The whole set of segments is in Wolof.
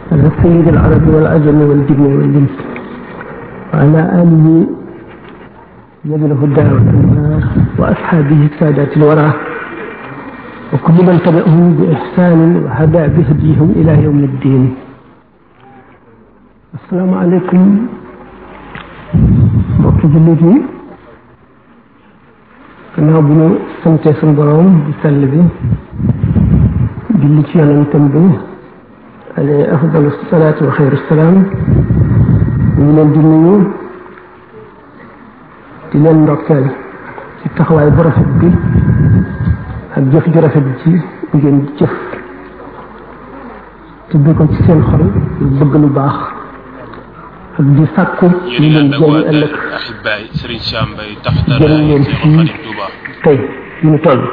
على سيد العرب والعجم والجن والإنس وعلى آله ذوي الهدى والأنوار وأصحابه السادات الورى وكل من تبعهم بإحسان وهدى بهديهم إلى يوم الدين. السلام عليكم mbokk jullit yi gannaaw bu ñu sante suñu borom di sell bi julli ci yonentam bi alayhi afdalu salaatu wa xayru salaam ñu leen di nuyu di leen ndokkeel ci taxawaay bu rafet bi ak jëf ju rafet ci ngeen jëf te bi ko ci seen xol bëgg lu baax ak di sàkku ñu leen jëriñ ëllëg jëriñ leen fii tey ñu ñu toll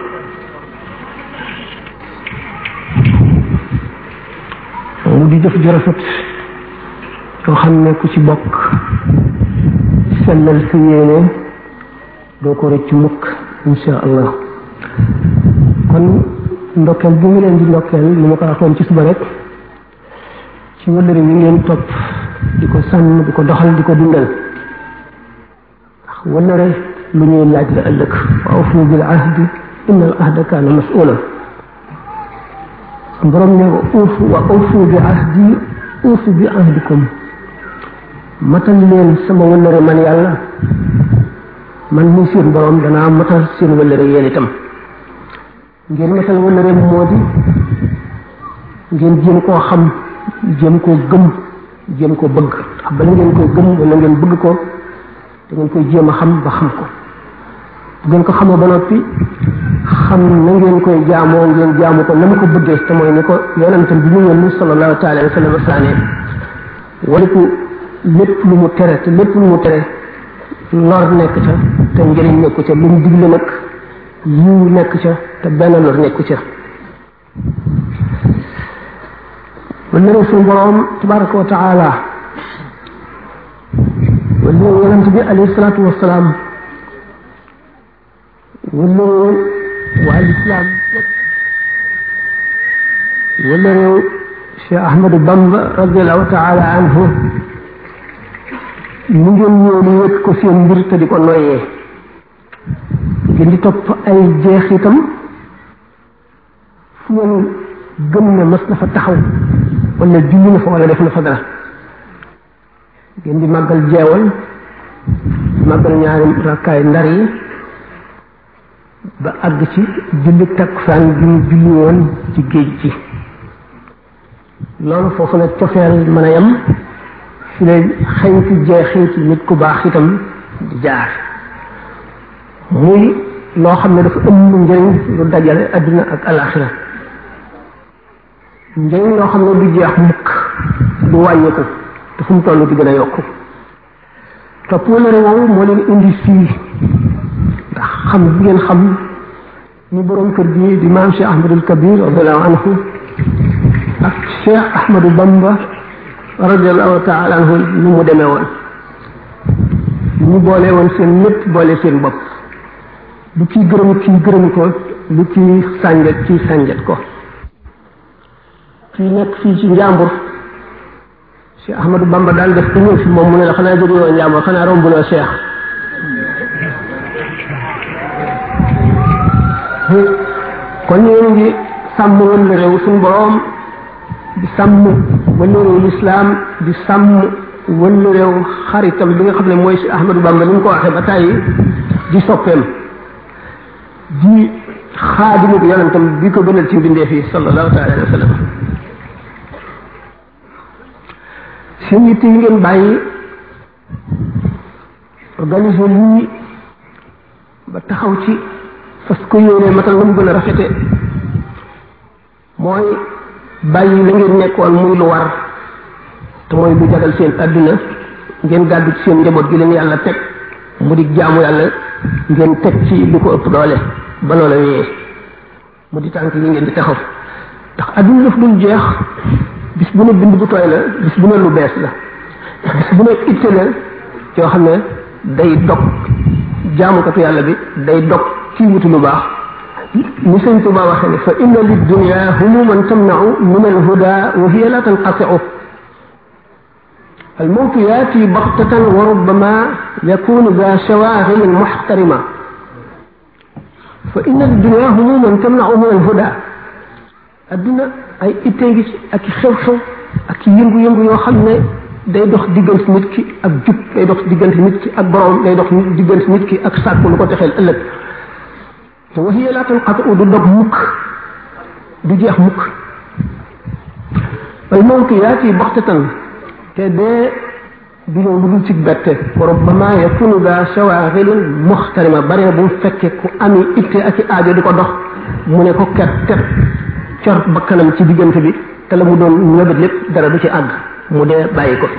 mu di jëf ju rafet yoo xam ne ku ci bokk sellal sa yéene doo ko rëcc mukk insha allah. kon ndokkeel bi mu leen di ndokkeel ni ma ko waxoon ci suba rek ci wëllëre wi ngeen topp di ko sàmm di ko doxal di ko dundal ndax wëllëre lu ñuy laaj la ëllëg wa awfu bil ahdi inna al ahda kaana mas'uula borom ne wa awfu bi ahdi uufu bi ahdikum matal leen sama wëllëre man yàlla man muy seen borom danaa matal seen wëllëre yéen itam ngeen matal wëllëre moo di ngeen jéem koo xam jéem koo gëm jéem ko bëgg ndax bala ngeen koy gëm wala ngeen bëgg ko da ngeen koy jéem a xam ba xam ko bu ngeen ko xamoo ba noppi xam na ngeen koy jaamoo ngeen jaamu ko na mu ko bëggee te mooy ni ko yonentam bi mu yónni sallallahu taala wa sallam saane waliku lépp lu mu tere te lépp lu mu tere lor nekk ca te njëriñ nekku ca lu mu digle nag yiw nekk ca te benn lor nekku ca wala ne suñu borom tabaraka wa taala wala yonent bi alayhi salaatu wasalaam wala waa lislaam wala réew Cheikh Ahmadou Bamba radiallahu taala anhu mu ngeen ñëw lu wékk ko seen mbir te di ko noyyee ngeen di topp ay jeexitam fu ngeen gëm ne mas na fa taxaw wala julli na fa wala def na fa dara ngeen di màggal jeewal màggal ñaari rakkaay ndar yi ba àgg ci julli takkusaan bi mu julli woon ci géej gi loolu foofu la cofeel mën a yem fi lay xëy ci jeexiti nit ku baax itam di jaar muy loo xam ne dafa ëmb njëriñ lu dajale adduna ak alaxira njëriñ loo xam ne du jeex mukk du wàññeeku te fu mu toll di gën a yokku topp wëllëre woowu moo leen indi fii ndax xam bi ngeen xam ni borom kër gi di maam Cheikh Ahmadul Kabir radiallahu anhu ak Cheikh Ahmadou Bamba radiallahu taala anhu ni mu demee woon ñu boole woon seen lépp boole seen bopp lu kii gërëm ko lu kii sànjet ko kii nekk fii ci njàmbur Cheikh Ahmadou Bamba daal def ko ñëw fi moom mu ne la xanaa jóge woon njàmbur xanaa rombuloo Cheikh kon ñu ngi sàmm wëllëre réew suñu borom di sàmm wëllëre réew lislaam di sàmm wëllëre réew xaritam bi nga xam ne mooy Cheikh Ahmadou Bamba ni mu ko waxee ba tàyyi di soppeem di xaadimu bi yonentam bi ko gënal ci mbindee fii sallallahu taala alayhi wa sallam seen yitte yi ngeen bàyyi organiser lii ba taxaw ci fas ko yéene matal na mu gën a rafete mooy bàyyi la ngeen nekkoon muy lu war te mooy lu jagal seen adduna ngeen gàddu ci seen njaboot gi leen yàlla teg mu di jaamu yàlla ngeen teg ci lu ko ëpp doole ba loola wéyee mu di tànk yi ngeen di taxaw ndax adduna daf dul jeex bis bu ne bind bu tooy la bis bu ne lu bees la bis bu ne itte la yoo xam ne day dog jaamukatu yàlla bi day dog ci wuti lu baax ni sëñ Tuba waxee ne fa inna lid dunya humuman tamna'u min al huda wa hiya la tanqati'u الموت ياتي بغتة وربما يكون ذا شواغل محترمة فإن الدنيا هموما تمنع من الهدى الدنيا أي إتنجس أكي خيو أكي ينغو يو خمنا day dox digënt nit ki ak jup day dox digënt nit ki ak borom day dox digënt nit ki ak sàkku lu ko texeel ëllëg te wahiya la tanqatu du dog mukk du jeex mukk al mawt yaati baxtatan te dee du ñëw lu dul ci bette rabbama yakunu da shawaghilin mukhtarima bare bu fekke ku ami itte ak aajo di ko dox mu ne ko ket tet cor bakkanam ci digënt bi te la mu doon ñëbët lépp dara du ci àgg mu dee bàyyi ko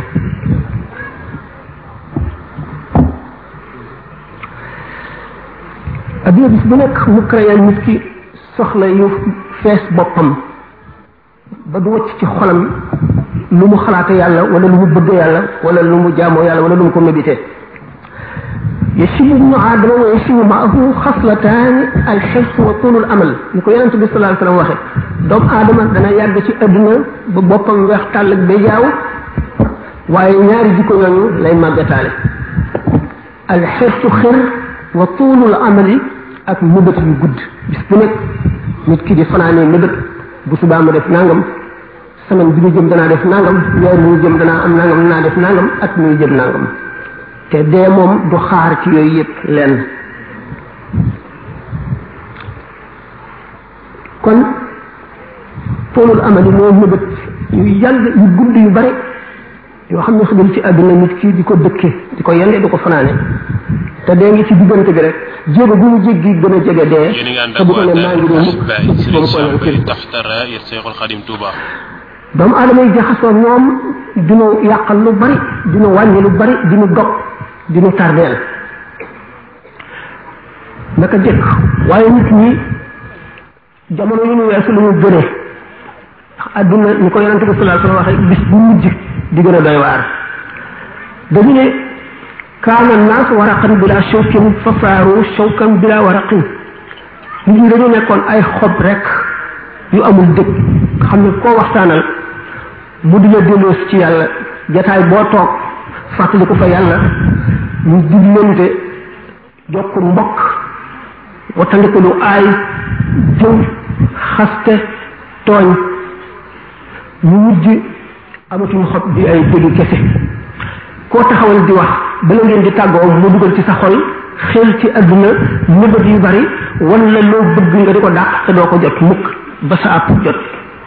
adduna bis bu nekk mu créé nit ki soxla yu fees boppam ba du wacc ci xolam lu mu xalaate yàlla wala lu mu bëgg yàlla wala lu mu jaamoo yàlla wala lu mu ko médité يشيب ابن آدم ويشيب معه خصلتان الحرص وطول الأمل نكو يونس بي صلى الله عليه وسلم واخه دوم آدم دانا يàgg ci aduna ba boppam weex tàll ak ba jaaw waaye ñaari jikko ñooñu lay màggataale alxirsu xir wa tuulul amali ak mëbët yu gudd bis bu nekk nit ki di fanaanee mëbët bu subaa ma def nangam semaine bi ñu jëm danaa def nangam weer ñu jëm danaa am nangam danaa def nangam at muy jëm nangam te dee moom du xaar ci yooyu yëpp lenn kon toolul amali moo mëbët yu yàgg yu gudd yu bari yoo xam ne xëgal ci àdduna nit ki di ko dëkke di ko yende di ko fanaane te dee ngi ci diggante bi rek jéego bu mu jéggi gën a jege dee te bu ko ne maa ngi doon doomu aadama yi jaxasoo ñoom dinu yàqal lu bari dinu wàññi lu bari dinu dog dinu tardeel naka jëkk waaye nit ñi jamono yu ñu weesu lu ñu gëne ndax àdduna ni ko yonente bi sallallahu alayhi wasallam waxe bis bu mujj di gën a doy waar dañu ne kaana naas waraqan bila shawkin fa saaru shawkan bila waraqin nit ñi dañu nekkoon ay xob rek yu amul dëkk xam ne koo waxtaanal mu di la delloos ci yàlla jataay boo toog fàttali ko fa yàlla ñu diglante jokk mbokk wattandiku lu aay jëw xaste tooñ ñu mujj amatuñu xob di ay dëgg kese koo taxawal di wax bala ngeen di tàggoo mu dugal ci sa xol xel ci àdduna nëbët yu bari wala loo bëgg nga di ko dàq te doo ko jot mukk ba sa àpp jot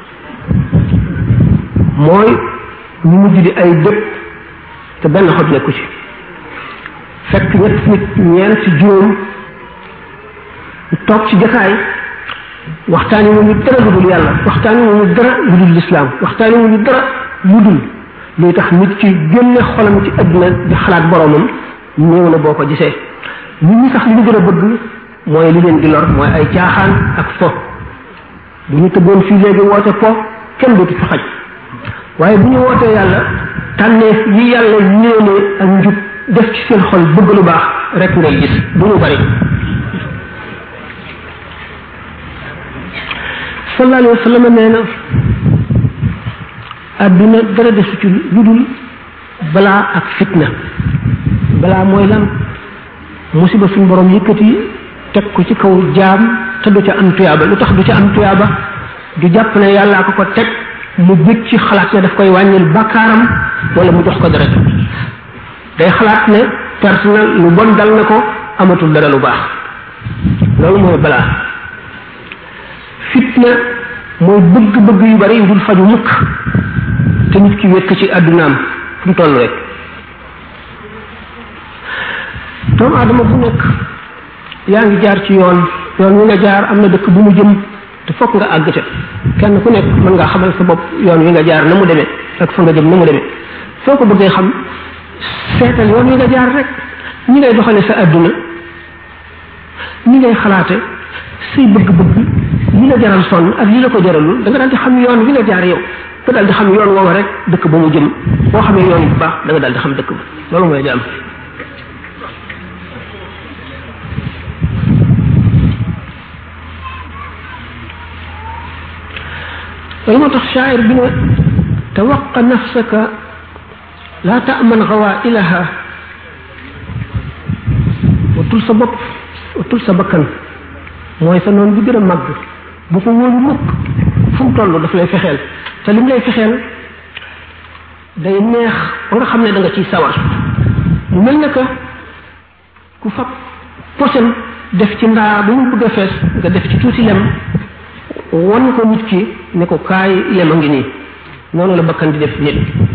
mooy ñu mujj di ay dëpp te benn xob nekku ci fekk ñett nit ñeent juróom toog ci jataay waxtaani wu ñu dara lu dul yàlla waxtaani wu ñu dara lu dul lislaam waxtaani wu ñu dara lu dul luy tax nit ci génne xolam ci àdduna di xalaat boromam néew na boo ko gisee nit ñi sax li ñu gën a bëgg mooy li leen di lor mooy ay caaxaan ak fo bu ñu tëggoon fii léegi woote po kenn dootu fi xaj waaye bu ñu wootee yàlla tànneef yi yàlla yéene ak njub def ci seen xol bëgg lu baax rek ngay gis du ñu bari sallallahu alayhi wa sallam nee na àdduna dara desu ci lu dul balaa ak fitna balaa mooy lan musiba suñ borom yëkkati teg ko ci kaw jaam te du ca am tuyaaba lu tax du ca am tuyaaba du jàpp ne yàllaa ko ko teg mu bëgg ci xalaat ne daf koy wàññil bakkaaram wala mu jox ko dara day xalaat ne personnel lu bon dal na ko amatul dara lu baax loolu mooy balaa fitna mooy bëgg-bëgg yu bari yu dul faju mukk te nit ki wékk ci àddunaam fu mu toll rek doomu aadama bu nekk yaa ngi jaar ci yoon wi nga jaar am na dëkk bu mu jëm te fokk nga àgg ca kenn ku nekk mën ngaa xamal sa bopp yoon wi nga jaar na mu demee ak fa nga jëm na mu demee soo ko bëggee xam seetal yoon wi nga jaar rek ñi ngay doxale sa àdduna ñi ngay xalaate say bëgg-bëgg li la jaral sonn ak li la ko jaralul da nga daal di xam yoon wi nga jaar yow nga daal di xam yoon woowa rek dëkk ba mu jëm boo xamee yoon bu baax da nga daal di xam dëkk ba loolu mooy di am loolu moo tax shaa'ir bi ne tawaqqa nafsaka la ta'man ghawailaha watul sa bopp watul sa bakkan mooy sa noon bi gën a màgg bu ko wóolu mukk fu mu toll daf lay fexeel te lim lay fexeel day neex ba nga xam ne da nga ciy sawar mu mel ne que ku fab posen def ci ndaa ba mu bëgg a fees nga def ci tuuti lem won ko nit ki ne ko kaay lem a ngi nii noonu la bakkan di def nit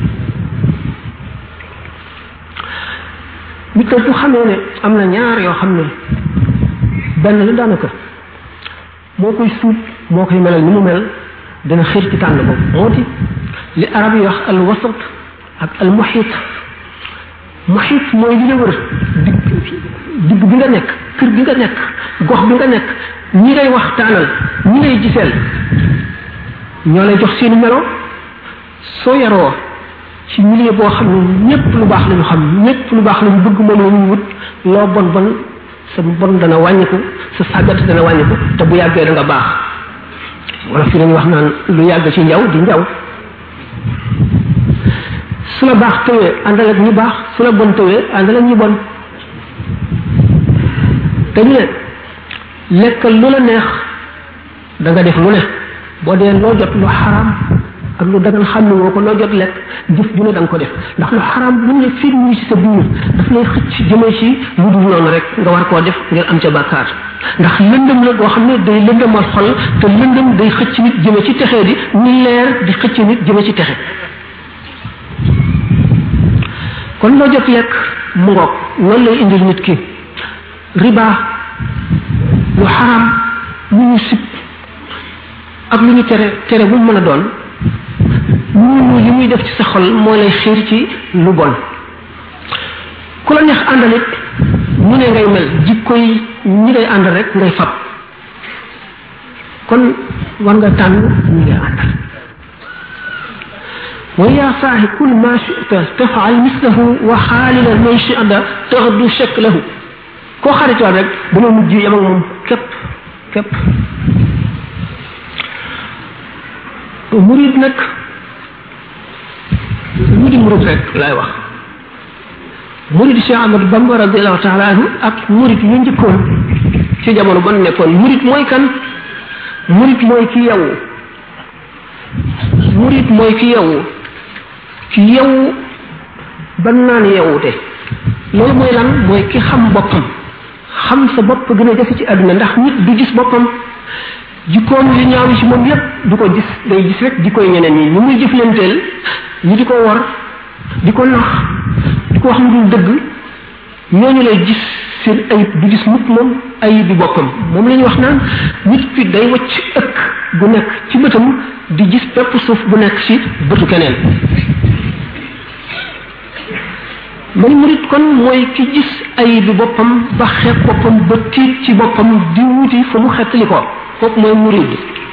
nit ko bu xamee ne am na ñaar yoo xam ne benn la daanaka moo koy suub moo koy melal ni mu mel dana xir ci tànn ko moo di li arab yi wax al wasat ak al muhit muhit mooy li la wër digg bi nga nekk kër bi nga nekk gox bi nga nekk ñi ngay waxtaanal ñi ngay giseel ñoo lay jox seeni melo soo yaroo ci milieu boo xam ne ñëpp lu baax lañu xam ñëpp lu baax lañu bëgg moom la ñuy wut loo bon bon sa bon dana wàññiku sa sàggat dana wàññiku te bu yàggee da nga baax wala fi dañuy wax naan lu yàgg ci njaw di njaw su la baax tëwee àndal ak ñi baax su la bon tëwee àndal ak ñi bon te ñu ne lekkal lu la neex da nga def lu ne boo dee loo jot lu xaraam ak lu dagan xam ne woo ko loo jot lekk jëf ju ne da nga ko def ndax lu xaraam bu ne fii mu ci sa biir daf lay xëcc jëmee ci lu dul noonu rek nga war koo def ngir am ca bàkkaar ndax lëndëm la boo xam ne day lëndëmal xol te lëndëm day xëcc nit jëme ci texee di ni leer di xëcc nit jëme ci texe kon loo jot lekk mu ngoog loolu lay indil nit ki riba lu xaraam lu ñu sib ak lu ñu tere bu mën a doon ñu li muy def ci sa xol moo lay xiir ci lu bon ku la neex àndalit ñu ne ngay mel jikko yi ñi ngay ànd rek ngay fab kon war nga tànn ñi ngay àndal wa ya saahi kul ma shi'ta taf'al mislahu wa xaalila man shi'ta taxdu shaklahu koo xaritoon rek dama mujj yam ak moom képp murid nag mu di murid rek laay wax murid Cheikh Ahmadou Bamba radiallahu taala anhu ak murid yu njëkkoon ci jamono ban nekkoon murid mooy kan murid mooy ki yow murid mooy ki yow ban naan yewute loolu mooy lan mooy ki xam boppam xam sa bopp gën a jafe ci àdduna ndax nit du gis boppam jikkoom li ñaaw yi ci moom yépp du ko gis day gis rek jikkoy ñeneen ñi ñu muy jëflanteel ñi di ko wor di ko nax di ko wax lu dul dëgg ñooñu lay gis seen ayib du gis mukk moom ayib bi boppam moom la ñuy wax naan nit ki day wacc ëkk bu nekk ci bëtam di gis pepp suuf bu nekk ci bëtu keneen man murit kon mooy ki gis ayib bi boppam ba xeeb boppam ba tiit ci boppam di wuti fu mu xettali ko kooku mooy murid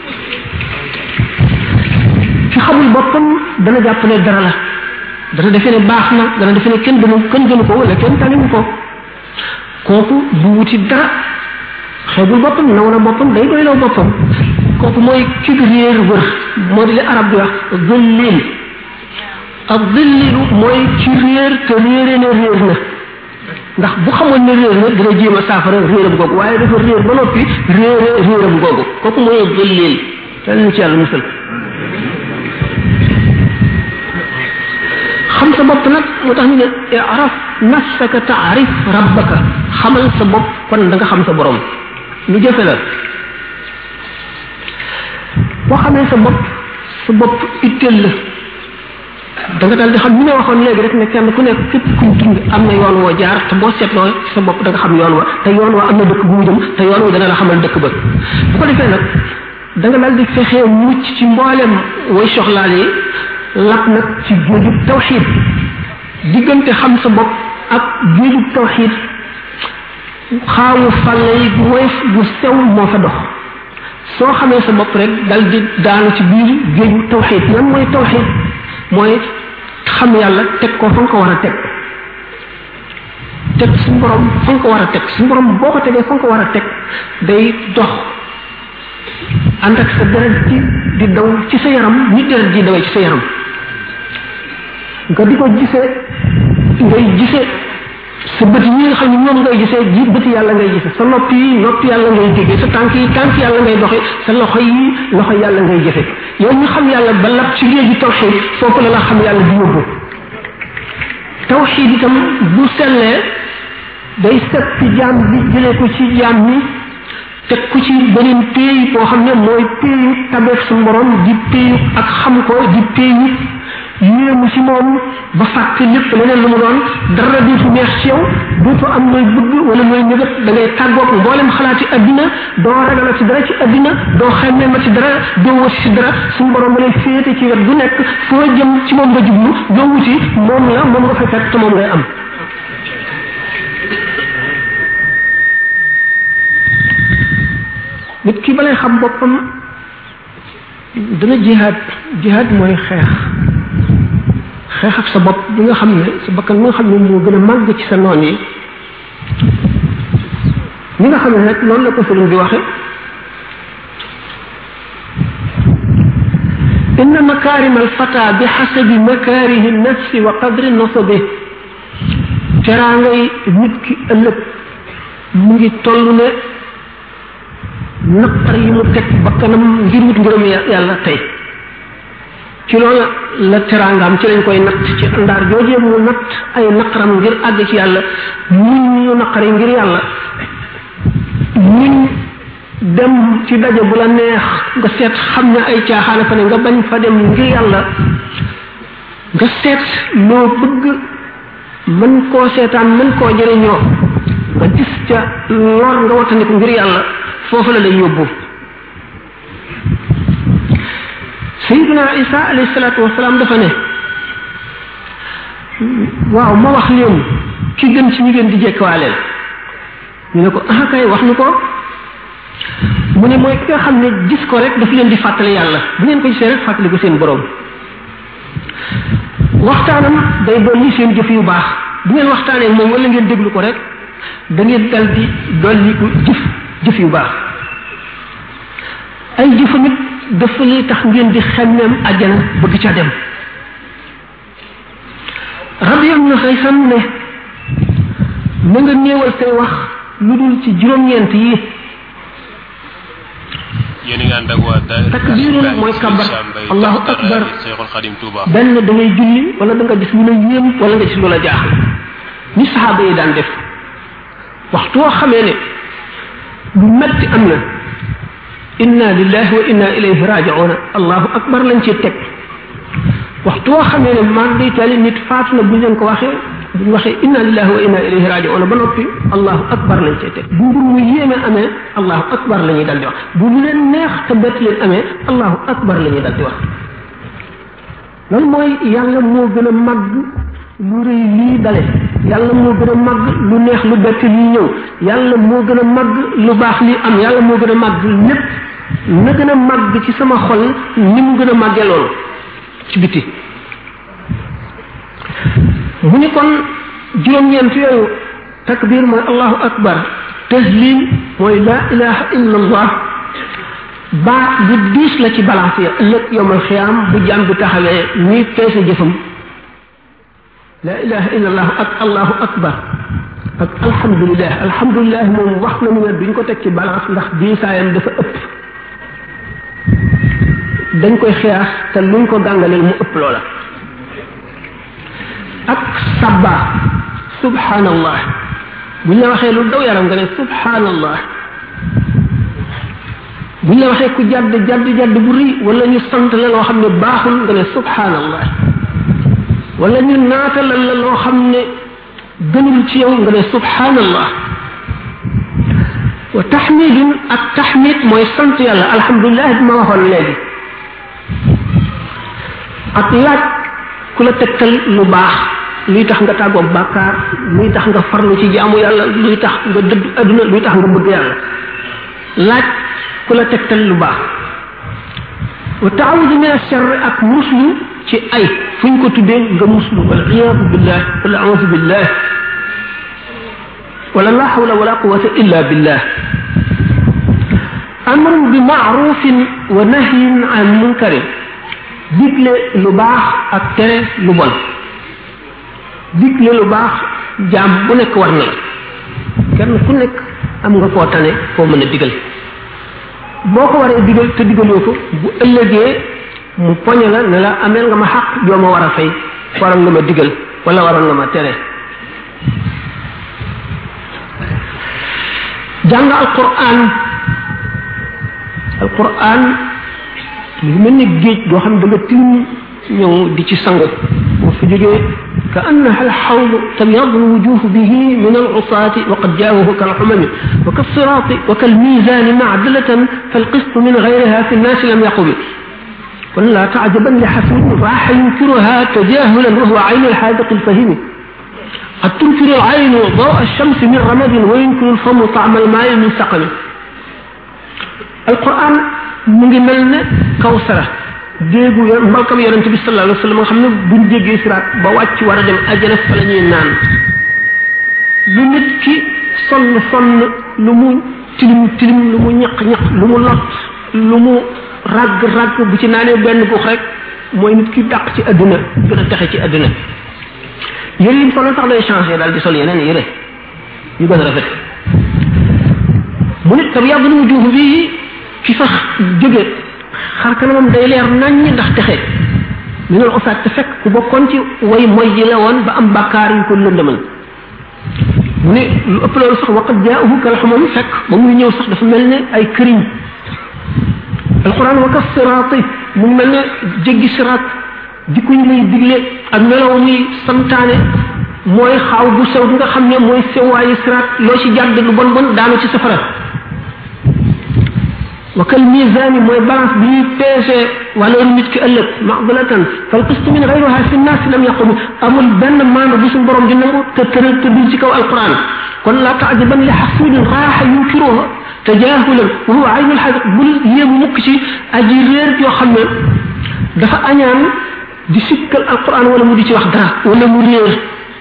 ki xamul boppam dana jàpp ne dara la dana defe ne baax na dana defe ne kenn gënu ko wala kenn taniwu ko kooku du wuti dara xeebul boppam naw na boppam day doyloo boppam kooku mooy ki réer wër moo di li arab di wax zëllil ak zëllilu mooy ci réer te réere ne réer na ndax bu xamoon ne réer na dina jéem a saafara réeram googu waaye dafa réer ba noppi réeram googu kooku mooy zëllil te ñu ci yàlla musal xam sa bopp nag moo tax ñu ne i'raf nafsaka ta'rif rabbaka xamal sa bopp kon da nga xam sa borom lu jafe la boo xamee sa bopp itteel la da nga daal di xam ni ma waxoon léegi rek ne kenn ku nekk képp kuñ dund am na yoon woo jaar te boo seetloo sa bopp da nga xam yoon wa te yoon wa am na dëkk bu mu jëm te yoon wa dana la xamal dëkk ba bu ko defee nag da nga daal di fexee mucc ci mboolem way soxlaal yi lap nag ci géejub tawxiid diggante xam sa bopp ak géejub tawxiid xaawu fàlle yi bu woyof bu sew moo fa dox soo xamee sa bopp rek dal di daanu ci biir géeju tawxiid lan mooy tawxiid mooy xam yàlla teg ko fa nga ko war a teg suñu borom fa nga ko war a teg suñu borom boo ko tegee fa nga ko war a teg day dox ànd ak sa deret ci di daw ci sa yaram ni deret di dawee ci sa yaram nga di ko gisee ngay gisee sa bët yi nga xam ne moom ngay gisee ji bëti yàlla ngay gisee sa nopp yi nopp yàlla ngay déggee sa tànk yi tànk yàlla ngay doxee sa loxo yi loxo yàlla ngay jëfe yow ñu xam yàlla ba lab ci léegi tawxid foofu la xam yàlla di yóbbu tawxid itam bu sellee day set ci jaam bi jëlee ko ci jaam ni teg ko ci beneen péey boo xam ne mooy péeyu tabeef su borom di péeyu ak xam ko di péeyu yéemu ci moom ba fàtte lépp leneen lu mu doon dara dootu neex ci yow dootu am nooy bëgg wala nooy nëbët da ngay tàggoog mboolem xalaati addina doo ragal ci dara ci addina doo xemmee ma ci dara doo wasi ci dara suñu borom lay féete ci wet gu nekk foo jëm ci moom nga jublu doo wuti moom la moom nga fay fekk te moom ngay am nit ki balay xam boppam dana jihaad mooy xeex ak sa bopp bi nga xam ne sa bakkan bi nga xam ne moo gën a màgg ci sa noon yi ñi nga xam ne nag noonu la ko sëriñ bi waxe inna makarim alfata bi xasabi makarihi nafsi wa qadri nasabi teraangay nit ki ëllëg mu ngi toll ne naqar yi mu teg bakkanam ngir wut ngërëm yàlla tey ci loolu la teraangaam ci lañ koy natt ci ndaar joojee mu natt ay naqaram ngir àgg ci yàlla muñ ñu naqari ngir yàlla muñ dem ci daje bu la neex nga seet xam ne ay caaxaana fa ne nga bañ fa dem ngir yàlla nga seet loo bëgg mën koo seetaan mën koo jëriñoo nga gis ca lor nga wattandiku ngir yàlla foofu la lay yóbbu sayyidina isa alayhi salatu wasalaam dafa ne waaw ma wax leen ki gën ci ñi ngeen di jekkawaaleel ñu ne ko ah kay wax ñu ko mu ne mooy ki nga xam ne gis ko rek daf leen di fàttali yàlla bu ngeen ko gisee rek fàttali ko seen borom waxtaanam day dolli seen jëf yu baax bu ngeen waxtaanee moom wala ngeen déglu ko rek da ngeen dal di dolli ko jëf yu baax ay jëfa nit dafa lay tax ngeen di xemmeem àjjana bëgg ca dem rabiyam na xëysam ne na nga néewal say wax lu dul ci juróom-ñeent yi yéen nga ànd ak waa takbiirul mooy kabar allahu akbar benn da ngay julli wala da nga gis lu la yéem wala nga gis lu la jaaxal ni saxaaba yi daan def waxtu woo xamee ne lu metti am na inna lillahi wa inna ilayhi raji'un allahu akbar lañ ci teg waxtu woo xamee ne man day tali nit faatu na bu leen ko waxee bu ñu waxee inna lillahi wa inna ilayhi raji'un ba noppi allahu akbar lañ ci teg bu mbir mu yéeme amee allahu akbar la ñuy dal di wax bu lu leen neex te bett leen amee allahu akbar la ñuy dal di wax loolu mooy yàlla moo gën a màgg lu rëy lii dale yàlla moo gën a màgg lu neex lu bett lii ñëw yàlla moo gën a màgg lu baax lii am yàlla moo gën a màgg lépp na gën a màgg ci sama xol ni mu gën a màggee loolu ci biti mu ni kon juróom-ñeent yooyu takbir mooy allahu akbar tahlil mooy la ilaha illa allah baat bu diis la ci balance ya ëllëg yowmal xiyaam bu jàmm bi taxawee ñuy peese jëfam la ilaha illa allah ak allahu akbar ak alhamdulillah moom wax nañu ne duñ ko teg ci balance ndax diisaayam dafa ëpp dañ koy xiyaas te luñ ko gàngaleel mu ëpp loola ak sabba subhanallah buñ la waxee lu daw yaram nga ne subhanallah buñ la waxee ku jadd bu ri wala ñu sant la loo xam ne baaxul nga ne subhanallah wala ñu naatalal la loo xam ne gënul ci yow nga ne subhanallah wa tahmidun ak tahmid mooy sant yàlla alhamdulillah bi ma waxoon léegi ak laaj ku la tegtal lu baax luy tax nga tàggoog bàkkaar luy tax nga farlu ci jaamu yàlla luy tax nga dëdd adduna luy tax nga bëgg yàlla laaj ku la tegtal lu baax wa taawudu min ash-sharr ak muslu ci ay fuñ ko tuddee nga muslu wal iyadu billah wala a'udhu billah wala la hawla wala quwwata illa billah amrun bi ma'rufin wa nahyin an munkarin digle lu baax ak tere lu bon digle lu baax jaam bu nekk war na kenn ku nekk am nga koo tane foo mën a digal boo ko waree digal te digaloo ko bu ëllëgee mu poñe la ne la ameel nga ma xaq joo ma war a fay waroon nga ma digal wala waroon nga ma tere jàng alquran lu mel ni géej goo xam ne da nga tilim ñëw di ci sangu boo fi jógee ka annaha alxawd tabyadu alwujuh bihi min alusati wa qad jaawahu kalxumami wa kalsirati wa kalmisani macdalatan falqist min gayriha fi nnaasi lam yaqubi kon la tajaban li xasin raaxa yunkiruha tajahulan wa huwa aynu alxaadiqi alfahimi قد تنكر العين ضوء الشمس من رمد وينكر الفم طعم الماء من سقم القرآن من ملنا كوثرة ديغو مبالكم يرنت بي صلى الله عليه وسلم خامن بون ديغي سرات با واتي ورا dem aljana fa lañuy naan lu nit ki son lu mu tilim lu mu ñak lu mu lot lu mu rag bu ci naane benn bu rek moy nit ki dak ci aduna gëna taxé ci aduna yére yi solo sax day changé daal di sol yeneen yére yu gën a rafet mu nit tam yàgg lu juuf bi fi sax jóge xar kanamam day leer naññ ndax texe mi ngi usaat te fekk ku bokkoon ci way moy ji la woon ba am bàkkaar yu ko lëndëmal mu ne lu ëpp loolu sax waqat jaahu kal xumam fekk ba muy ñëw sax dafa mel ne ay këriñ alquran wa ka siraati mu mel ne jéggi siraat jikko yi lay digle ak melaw muy santaane mooy xaaw bu sew bi nga xam ne mooy sewaayu siraat loo ci jàdd lu bon bon daanu ci safara wa kal misani mooy balance bi ñuy peese valeur nit ki ëllëg maqbalatan fal qist min ghayriha fi nnaas lam yaqum amul benn maandu bu suñu borom di nangu te tëral te dul ci kaw alquran kon la taajaban li xasidin raaxa yunkiruha tajahulan wa huwa aynu alxadiq bul yéemu mukk ci aji réer yoo xam ne dafa añaan di sikkal alquran wala mu di ci wax dara wala mu réer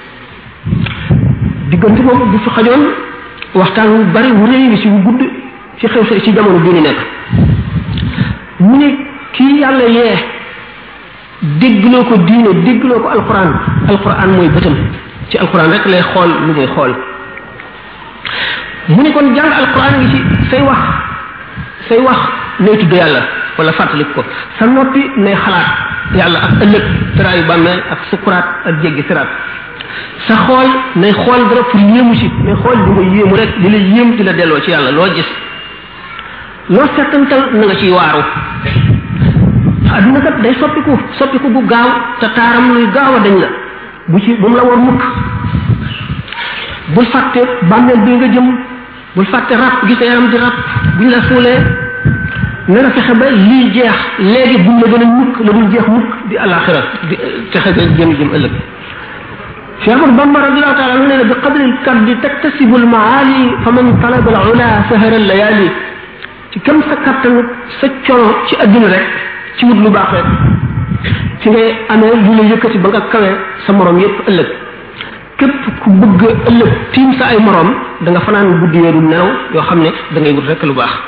diggante boobu bu fi xajoon waxtaan wu bari wu réy ci wu gudd ci xew ci jamono bi ni nekk mu ne kii yàlla yee déggloo ko diine déggloo ko alquran mooy bëtam ci alquran rek lay xool lu muy xool mu ne kon jàng alquran ngi ci say wax nay tudd yàlla wala fàttalik ko sa noppi nay xalaat yàlla ak ëllëg tëraayu bàmmeel ak sukuraat ak jéggi siraat sa xool nay xool dara pour yéemu ci nay xool di nga yéemu rek di la yéem di la delloo ci yàlla loo gis loo settantal na nga ciy waaru adduna kat day soppiku bu gaaw te taaram luy gaaw a dañ la bu mu la war mukk bul fàtte bàmmeel bi nga jëm bul fàtte rab gis yaram di rab buñ la suulee na nga fexe ba lii jeex léegi buñ la gën a mukk la dul jeex mukk di alaxira di fexe ba jëm ëllëg Cheikh Ahmad Bamba radiallahu taala anu nee na bi qadri lkaddi taktasibu lmaali fa man talaba al ula sahara layali ci kam sa kattan sa coono ci adduna rek ci wut lu baax rek ci ngay amee lu la yëkkati ba nga kawe sa morom yépp ëllëg képp ku bëgg ëllëg tiim sa ay morom da nga fanaan guddi yeeru nelaw yoo xam ne da ngay wut rek lu baax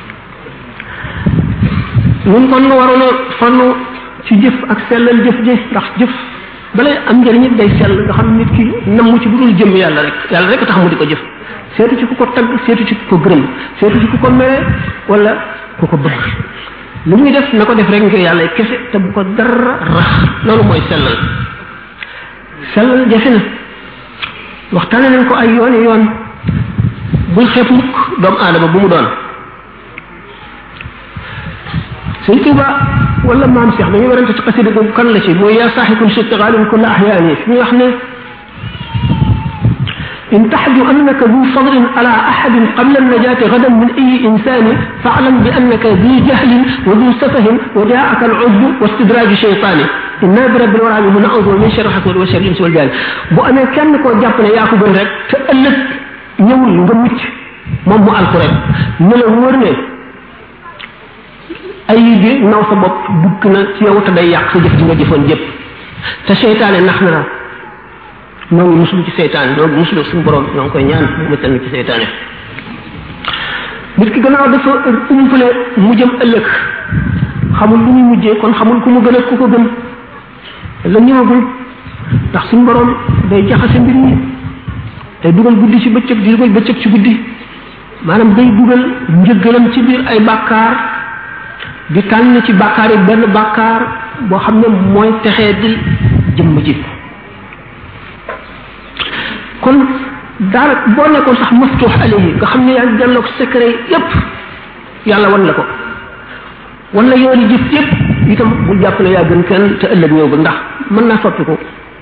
ñun kon waroon a fannu ci jëf ak sellal jëf ndax jëf balay am njëriñ day sell nga xam nit ki namm ci budul jëm yàlla rek tax mu di ko jëf seetu ci ku ko tagg seetu ci ku ko gërëm seetu ci ku ko mere wala ku ko bëgg lu muy def na ko def rek ngir yàlla kese te bu ko dara rax loolu mooy sellal jafe na waxtaane nañ ko ay yoon bul xeeb mukk doomu aadama bu mu doon sëñ Tuuba wala maam Cheikh dañuy warante ci xasida googu kan la ci mooy yaa saaxikun shittigaalin kulla ahyaani fi muy wax ne إن تحد أنك ذو فضل على أحد قبل النجاة غدا من أي إنسان فاعلم بأنك ذو جهل وذو سفه وجاءك العجب واستدراج شيطان إنا برب الورى من نعوذ من شر حسد وشر الإنس والجان بو أنا كان كو جابنا ياكو بن رek te ëlëk ñewul nga mucc mom mu alku rek ne la wër ne ay bi naw sa bopp dugg na ci yow te day yàq sa jëf ji nga jëfoon jëpp te seytaane nax na la ñoo ngi muslu ci seytaane ñoo ngi muslu suñu borom ñoo ngi koy ñaan mu muccal ci seytaane nit ki gannaaw dafa umpale mu jëm ëllëg xamul lu muy mujjee kon xamul ku mu gën a ku ko gën la ñëwagul ndax suñu borom day jaxase mbir yi day dugal guddi ci bëccëg di dugal bëccëg ci guddi maanaam day dugal njëggalam ci biir ay bàkkaar di tànn ci bàkkaar yi benn bàkkaar boo xam ne mooy texee di jëmm ji kon daal boo nekkoon sax maftuux alayhi nga xam ne yaa ngi jàlloog secret yépp yàlla wan la ko wan la yooni jëf yépp itam bul jàpp ne yaa gën kenn te ëllëg ñëw ba ndax mën naa soppi ko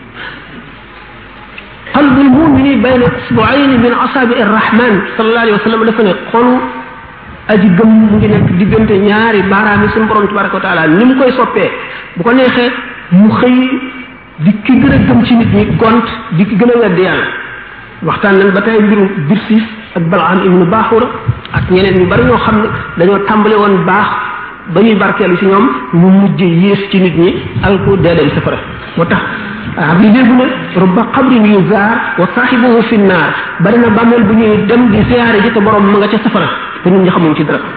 qalbu lmumini bayna isbuayn min asabi arrahman sallallahu alayhi wa sallam dafa ne xolu aji gëm mu ngi nekk diggante ñaari baaraam yi suñu borom tabaraka wa taala ni mu koy soppee bu ko neexee mu xëy di ki gën a gëm ci nit ñi gont di ki gën a wedd yàlla waxtaan nañ ba tey mbiru Birsis ak Balaam ibnu Baaxura ak ñeneen ñu bari ñoo xam ne dañoo tàmbale woon baax ba ñuy barkeelu ci ñoom ñu mujj yées ci nit ñi alku dee dem safara moo tax bi léegi ne rubba qabrin yuzaar wa saahibuhu fi naar bari na bàmmeel bu ñuy dem di siyaare ji te borom ma nga ca safara te nit ñi xamuñ ci dara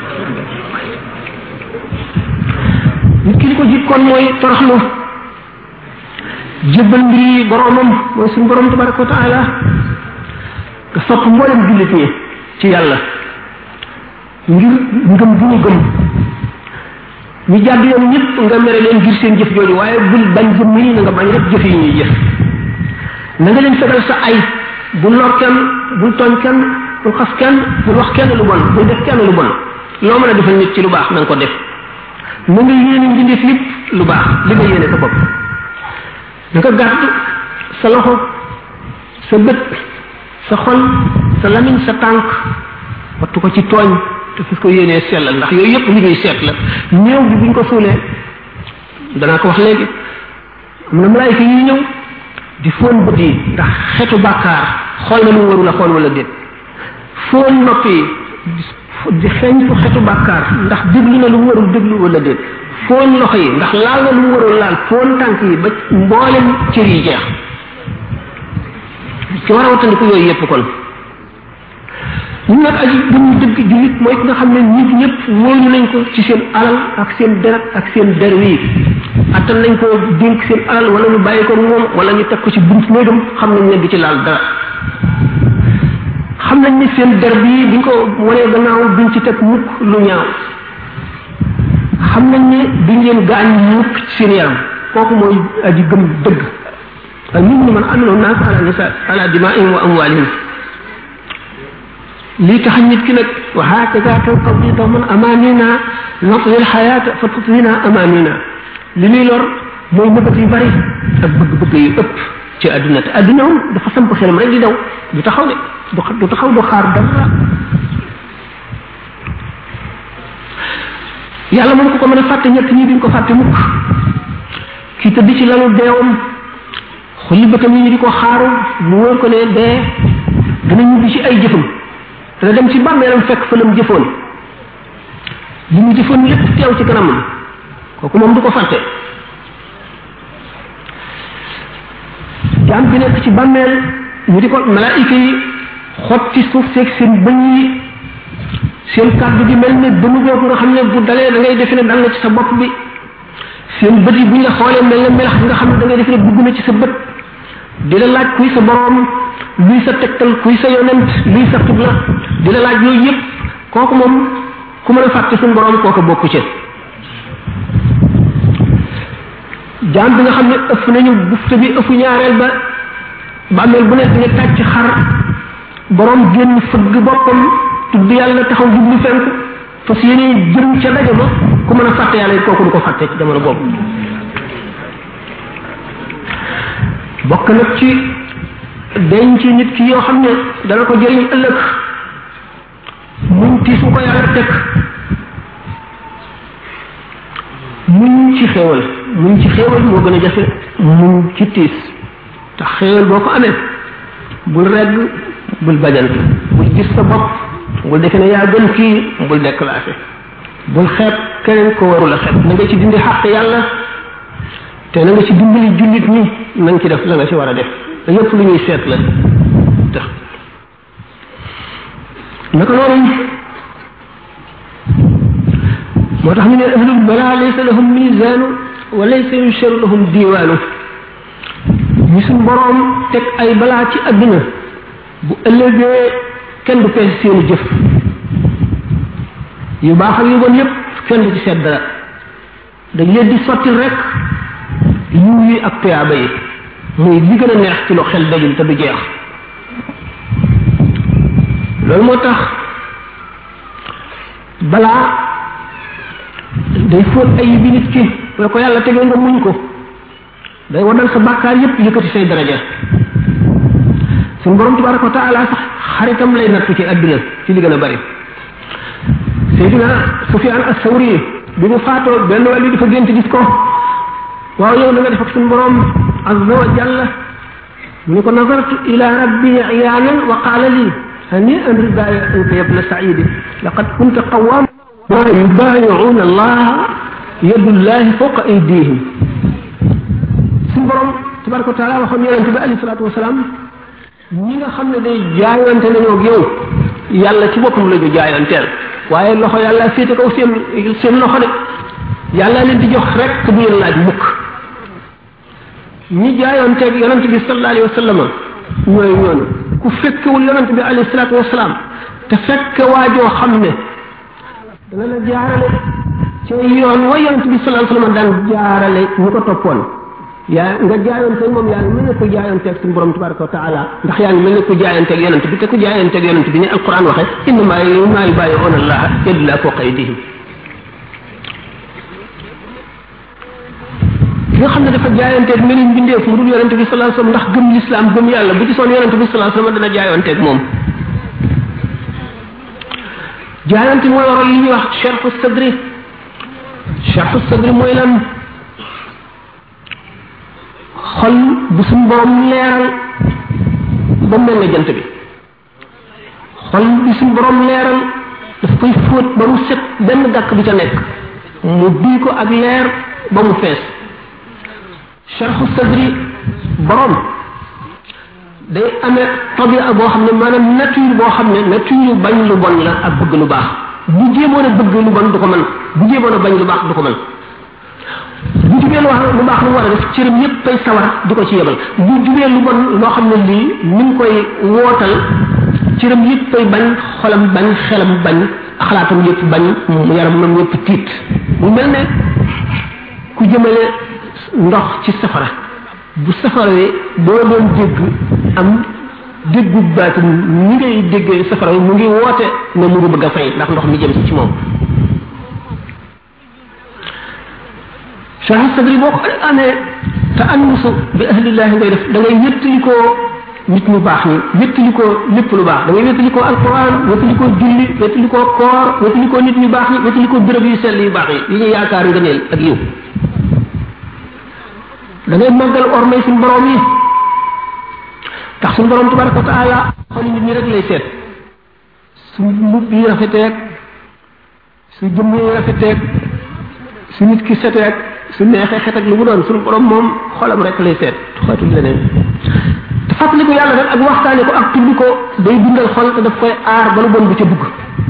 nit ki li ko jikkoon mooy toroxlu jébbal mbir yi boromam mooy suñu borom tabaraka wa taala nga sopp mboolem jullit ñi ci yàlla ngir ngëm bu ñu gëm ñu jàdd yoon ñëpp nga mere leen ngir seen jëf jooju waaye bul bañ jëmm yi na nga bañ rek jëf yi ñuy jëf na nga leen fegal sa ay bul lor kenn bul tooñ kenn bul xas kenn bul wax kenn lu bon bul def kenn lu bon loo mën a defal nit ci lu baax na nga ko def na nga yéene mbindeef yëpp lu baax li nga yéene sa bopp na nga gàtt sa loxo sa bët sa xol sa lamiñ sa tànk wattu ko ci tooñ te fas ko yéenee sellal ndax yooyu yëpp li ñuy seet la néew bi buñ ko suulee danaa ko wax léegi am na malaayika yi ñëw di fóon bët yi ndax xetu bàkkaar xool na lu mu warul a xool wala déet fóon nopp yi di xeeñ fu xetu bàkkaar ndax déglu na lu mu warul déglu wala déet fóon loxo yi ndax laal na lu mu warul laal fóon tànk yi ba mboolem cër yi jeex ci war a wattandiku yooyu yëpp kon ñun nag aji buñu dëgg jullit mooy ki nga xam ne nit ñëpp wóolu nañ ko ci seen alal ak seen deret ak seen der wi attan nañ ko dénk seen alal wala ñu bàyyi ko moom wala ñu teg ko ci bunt néegam xam nañ ne du ci laal dara xam nañ ne seen der bii buñ ko wanee gannaaw duñ ci teg mukk lu ñaaw xam nañ ne duñ leen gaañ mukk ci seen yaram kooku mooy aji gëm dëgg ak nit ñi man amiloo naas ala nisa ala dimaihim wa amwalihim lii tax nit ki nag wa hakaza tanqadi dawman amanina natwi alxayata fa tutwina amanina li ñuy lor mooy nëbët yu bari ak bëgg-bëgg yu ëpp ci àdduna te àdduna moom dafa samp xelam rek di daw du taxaw de du taxaw du xaar dara yàlla moom ko mën a fàtte ñett ñi duñ ko fàtte mukk kii tëdd ci lalu deewam xulli bëtam yi di ko xaaru mu wóor ko ne dee dana ñibbi ci ay jëfam dana dem ci bàmmeelam fekk fa lam jëfoon li mu jëfoon lépp teew ci kanamam kooku moom du ko fàtte jaam bi nekk ci bàmmeel ñu di ko malaayika yi xotti suuf seeg seen bëñ yi seen kàddu gi mel ne bënu googu nga xam ne bu dalee da ngay defe ne dal na ci sa bopp bi seen bët yi buñ la xoolee mel ne melax nga xam ne da ngay defe ne dugg na ci sa bët di la laaj kuy sa borom luy sa tegtal kuy sa yonent luy sa xibla di la laaj yooyu yëpp kooku moom ku mën a fàtte suñu borom kooku bokku ci jaam bi nga xam ne ëff nañu bufte bi ëffu ñaareel ba bàmmeel bu nekk nga tàcc xar borom génn fëgg boppam tudd yàlla taxaw jublu fenk fas yéene jëm ca daje ba ku mën a fàtte yàlla it kooku du ko fàtte ci jamono boobu bokk nag ci denc nit ki yoo xam ne dana ko jëriñ ëllëg muñ tiis bu ko yàlla teg muñ ci xéewal moo gën a jafe muñ ci tiis te xéewal boo ko amee bul regg bul bajantu bul gis sa bopp bul defe ne yaa gën kii bul déclassé bul xeeb keneen ko warul a xeeb na nga ci dindi xàq yàlla te na nga ci dimbali jullit ñi na nga ci def la nga ci war a def te yëpp lu ñuy seet la tax naka noonu moo tax ñu ne ahlul bala laysa lahum misaanu wa laysa yusharu lahum diwaanu ñi suñ borom teg ay balaa ci àdduna bu ëllëgee kenn du peese seeni jëf yu baax ak yu bon yépp kenn du ci seet dara dañ leen di sottil rek yiw yi ak tuyaaba yi muy li gën a neex ci lu xel dajul te du jeex loolu moo tax balaa day fóot ay bi nit ki la ko yàlla tegee nga muñ ko day wadal sa bàkkaar yépp yëkkati say daraja suñu borom tabaraka wa taala sax xaritam lay nattu ci àdduna ci li gën a bari Seydina Sufyaan as-Sawri bi mu faatoo benn wàll dafa gént gis ko waaw yow na nga def ak suñu borom azza wa jalla mu ne ko nazartu ila rabbi iyaanan wa qaala li هنيئا ربايعك يا ابن سعيد لقد كنت قواما يبايعون الله يد الله فوق ايديهم سبحان تبارك وتعالى وخم يونت عليه الصلاه والسلام ñi nga xamne day jaayante nañu ak yow yalla ci boppam la ñu jaayantel waye loxo yalla fété kaw seen loxo de yalla leen di jox rek bu leen laaj mukk ñi jaayante ak yonent bi sallallahu alayhi wasallam ñoy ñoon ku fekkewul yonent bi alayhi salatu wassalam te fekke waajoo xam ne dana la jaarale ci yoon wa yonent bi sallallahu alayhi wasallam daan jaarale ñu ko toppoon yaa nga jaayante moom yaa ngi mel ne ko jaayante ak suñu borom tabaraka wa taala ndax yaa ngi mel ne ko jaayante ak yonent bi te ko jaayante ak yonent bi ni alquran waxe innama yubayi'una allaha yadullah fawqa aydihim nga xam ne dafa jaayante ak meneen bindeef mu dul yonent bi sallallahu alayhi wasallam ndax gëm l'islam gëm yàlla bu ci son yonent bi sallallahu alayhi wasallam dana jaayante ak moom jaayante mooy waral li ñuy wax sharhu sadri mooy lan xol bu suñ borom leeral ba mel ne jant bi xol bi suñ borom leeral daf koy fóot ba mu set benn gàkk bi ca nekk mu duy ko ak leer ba mu fees sharhu sadri borom day amee tabia boo xam ne maanaam nature boo xam ne nature bañ lu bon la ak bëgg lu baax bu jéemoon a bëgg lu bon du ko mën bu jéemoon a bañ lu baax du ko mën bu jubee lu baax lu war a def cëram yépp ay sawar di ko ci yebal bu jubee lu bon loo xam ne lii mi ngi koy wootal cëram yépp ay bañ xolam bañ xelam bañ xalaatam yépp bañ mu yaram yépp tiit mu mel ne ku jëmale ndox ci safara bu safara wi boo doon dégg am déggu baatin ni ngay déggee safara wi mu ngi woote ne mu ngi bëgg a fay ndax ndox mi jëm ci moom sharh sadri boo ko amee te annusu bi ahlillahi ngay def da ngay wéttalikoo nit ñu baax ñi wéttalikoo lépp lu baax da ngay wéttalikoo alquran wéttalikoo julli wéttalikoo koor wéttalikoo nit ñu baax ñi wéttalikoo béréb yu sell yu baax yi ñu yaakaar ngëneel ak yiw da ngay màggal ormay suñu borom yi tax suñu borom tabaraka wa taala xoli nit ñi rek lay seet su mbubb yi rafeteeg su jëmm yi rafeteeg su nit ki seteeg su neexee xet ak lu mu doon suñu borom moom xolam rek lay seet xootul leneen te fàttali ko yàlla rek ak waxtaane ko ak tudd ko day dundal xol te daf koy aar ba lu bon bu ca dugg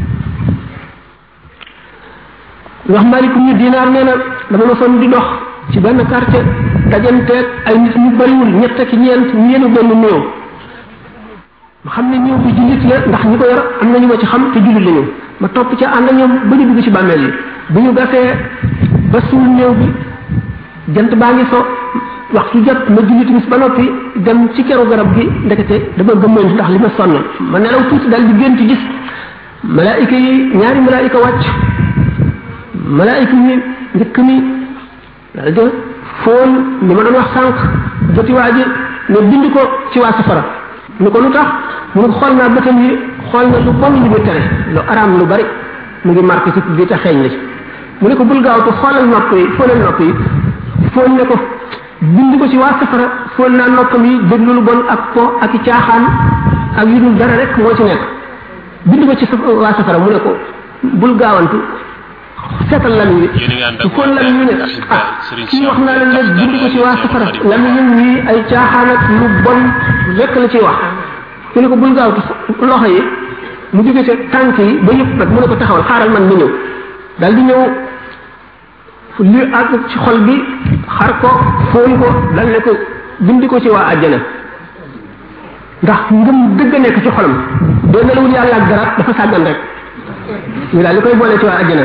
wax malikum ñu dinaar nee na dama ma sonn di dox ci benn quartier dajanteeg ay nit ñu bariwul ñett ak ñeent ñeenu benn néew ma xam ne ñëw bi jullit la ndax ñi ko yor am nañu ma ci xam te jullit lañu ma topp ca ànd ak ñoom ba ñu dugg ci bàmmeel yi bu ñu gasee ba suul néew bi jant baa ngi so waxtu jot ma julli timis ba noppi dem ci keru garab gi ndekete dama gëmmoon ndax li ma sonn ma nelaw tuuti dal di gént gis malaayika yi ñaari malaayika wàcc malaayika yi njëkk mi dal de foon li ma doon wax sànq joti waa ji ne bind ko ci waa safara ni ko lu tax mu ne xool naa bëtam yi xool na lu bon li mu tere lu araam lu bari mu ngi marqué ci bi te xeeñ la ci mu ne ko bul gaawtu xoolal nopp yi foolal nopp yi foon ne ko bind ko ci waa safara foon naa noppam yi déglu lu bon ak po ak i caaxaan ak yu dul dara rek moo ci nekk bind ko ci waa safara mu ne ko bul gaawantu seetal lan wi su foon lan wi ne kii wax naa leen rek bind ko ci waa safara lan wi ay caaxaan ak lu bon rek la ciy wax mu ne ko bul gaawtu loxo yi mu jóge ca tànk yi ba yëpp nag mu ne ko taxawal xaaral man ma ñëw daal di ñëw li ak ci xol bi xar ko foon ko dal ne ko bindi ko ci waa àjjana ndax ngëm dëgg nekk ci xolam doo nelawul yàlla ak dara dafa sàggan rek ñu daal li koy boole ci waa àjjana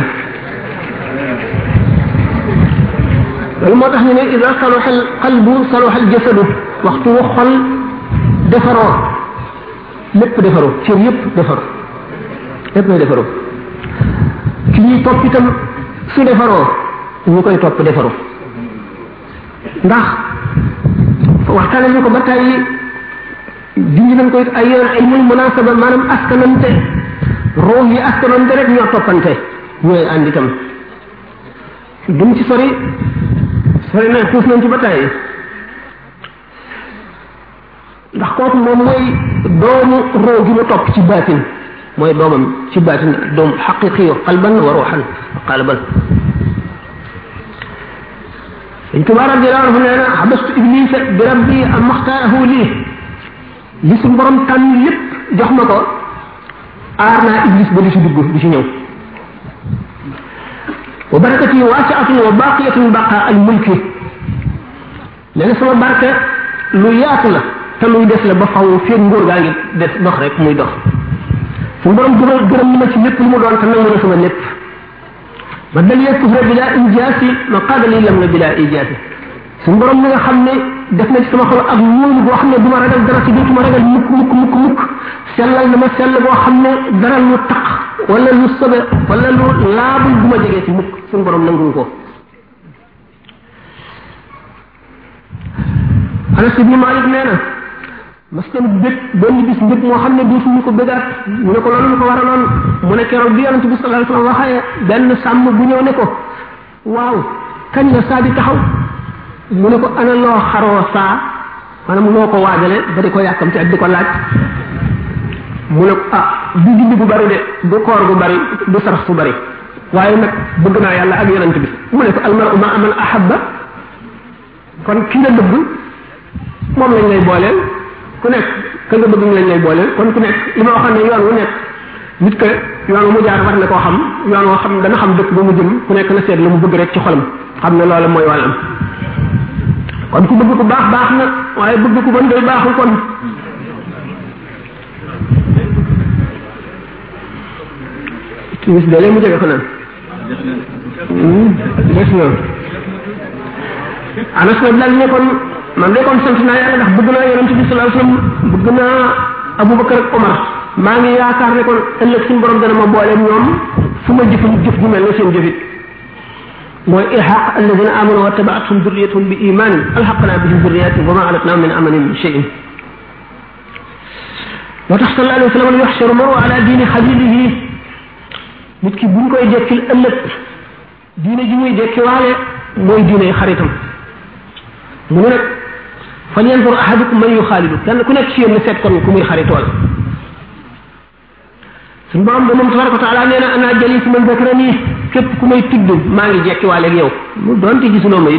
loolu moo tax ñu ne ida saluha al qalbu saluha al jasadu waxtu wu xol defaroo lépp defaroo cër yëpp defaroo lépp lay defaroo ki ñuy topp itam su defaroo ñu koy topp defaroo ndax waxtaane ñu ko ba tàyyi junj nañ ko it ay yoon ilmul munasaba maanaam askanante roox yi askanante rek ñoo toppante ñooy ànd itam duñ ci sori na tuus nañ ci ba tàyyi ndax kooku moom mooy doomu roo gi mu topp ci baatin mooy doomam ci baatin doom xaqiqi qalban wa ruuxan qalban dañ tubaab radiyallahu anhu nee na xabastu iblisa bi rabbi am maxtaarahu lii li suñ borom tànn lépp jox ma ko aar naa iblis ba di si dugg di si ñëw wa barakati waasiatun wa baqiyatun baqa al mulki nee na sama barke lu yaatu la te luy des la ba faw fii nguur gaa ngi des dox rek muy dox suñ borom gërëm na ma ci lépp lu mu doon te nangu na sama lépp ma dal kufra bila injaasi ma qaada li lam na bila ijaasi suñ borom mi nga xam ne def na ci sama xol ak ñoom boo xam ne du ma ragal dara ci dootuma ragal mukk sellal na ma sell boo xam ne dara lu taq wala lu sobe wala lu laabul du ma jegee ci mukk suñ borom nangu ko Anas ibn Malik nee na mas na bég benn bis mbég moo xam ne dootuñu ko bégaat ñu ne ko loolu ñu ko waraloon mu ne keroog bi yonente bi sallallahu alayhi wasallam waxee benn sàmm bu ñëw ne ko waaw kañ la saa di taxaw mu ne ko ana loo xaroo saa maanaam loo ko waajale ba di ko yàkkamti ak di ko laaj mu ne ko du julli bu bari de du koor bu bari du sarax su bari waaye nag bëgg naa yàlla ak yonente bi mu ne ko almaru ma aman ahabba kon ki nga bëgg moom lañ lay booleel ku nekk ka nga bëgg ñu lañ lay booleel kon ku nekk li ma waxoon ne yoon wu nekk nit que yoon mu jaar war na koo xam yoon woo xam dana xam dëkk ba mu jëm ku nekk na seet la mu bëgg rek ci xolam xam ne loola mooy wàllam kon ku bëgg ku baax baax na waaye bëgg ku bon day baaxul kon timis de mu jege ko naan des na Anas na dal ne kon man de kon sant naa yàlla ndax bëgg naa yonent bi sallallahu alayhi wasallam bëgg naa Abubakar ak Omar maa ngi yaakaar ne kon ëllëg suñu borom dana ma boole ñoom fu ma jëf ju mel ne seen jëfit mooy ilhaq alladina amanu wa tabaatuhum durriyatuhum bi imanin alhaqna bihim durriyatihim wa ma alatnahum min amalihim min shay'in moo tax sallallahu alayhi wasallam yuhsharu maru ala diini xalilihi nit ki buñ koy dekkil ëllëg diine ji muy dekki waale mooy diine xaritam mu ne nag fal yanzur ahadukum man yuxaalidu kenn ku nekk ci yéen ne seet kon ku muy xaritool suñu borom ba moom tabaraka wa taala nee na ana jalisu man zakarani képp ku may tudd maa ngi jekki waale ak yow mu doonte gisuloo ma it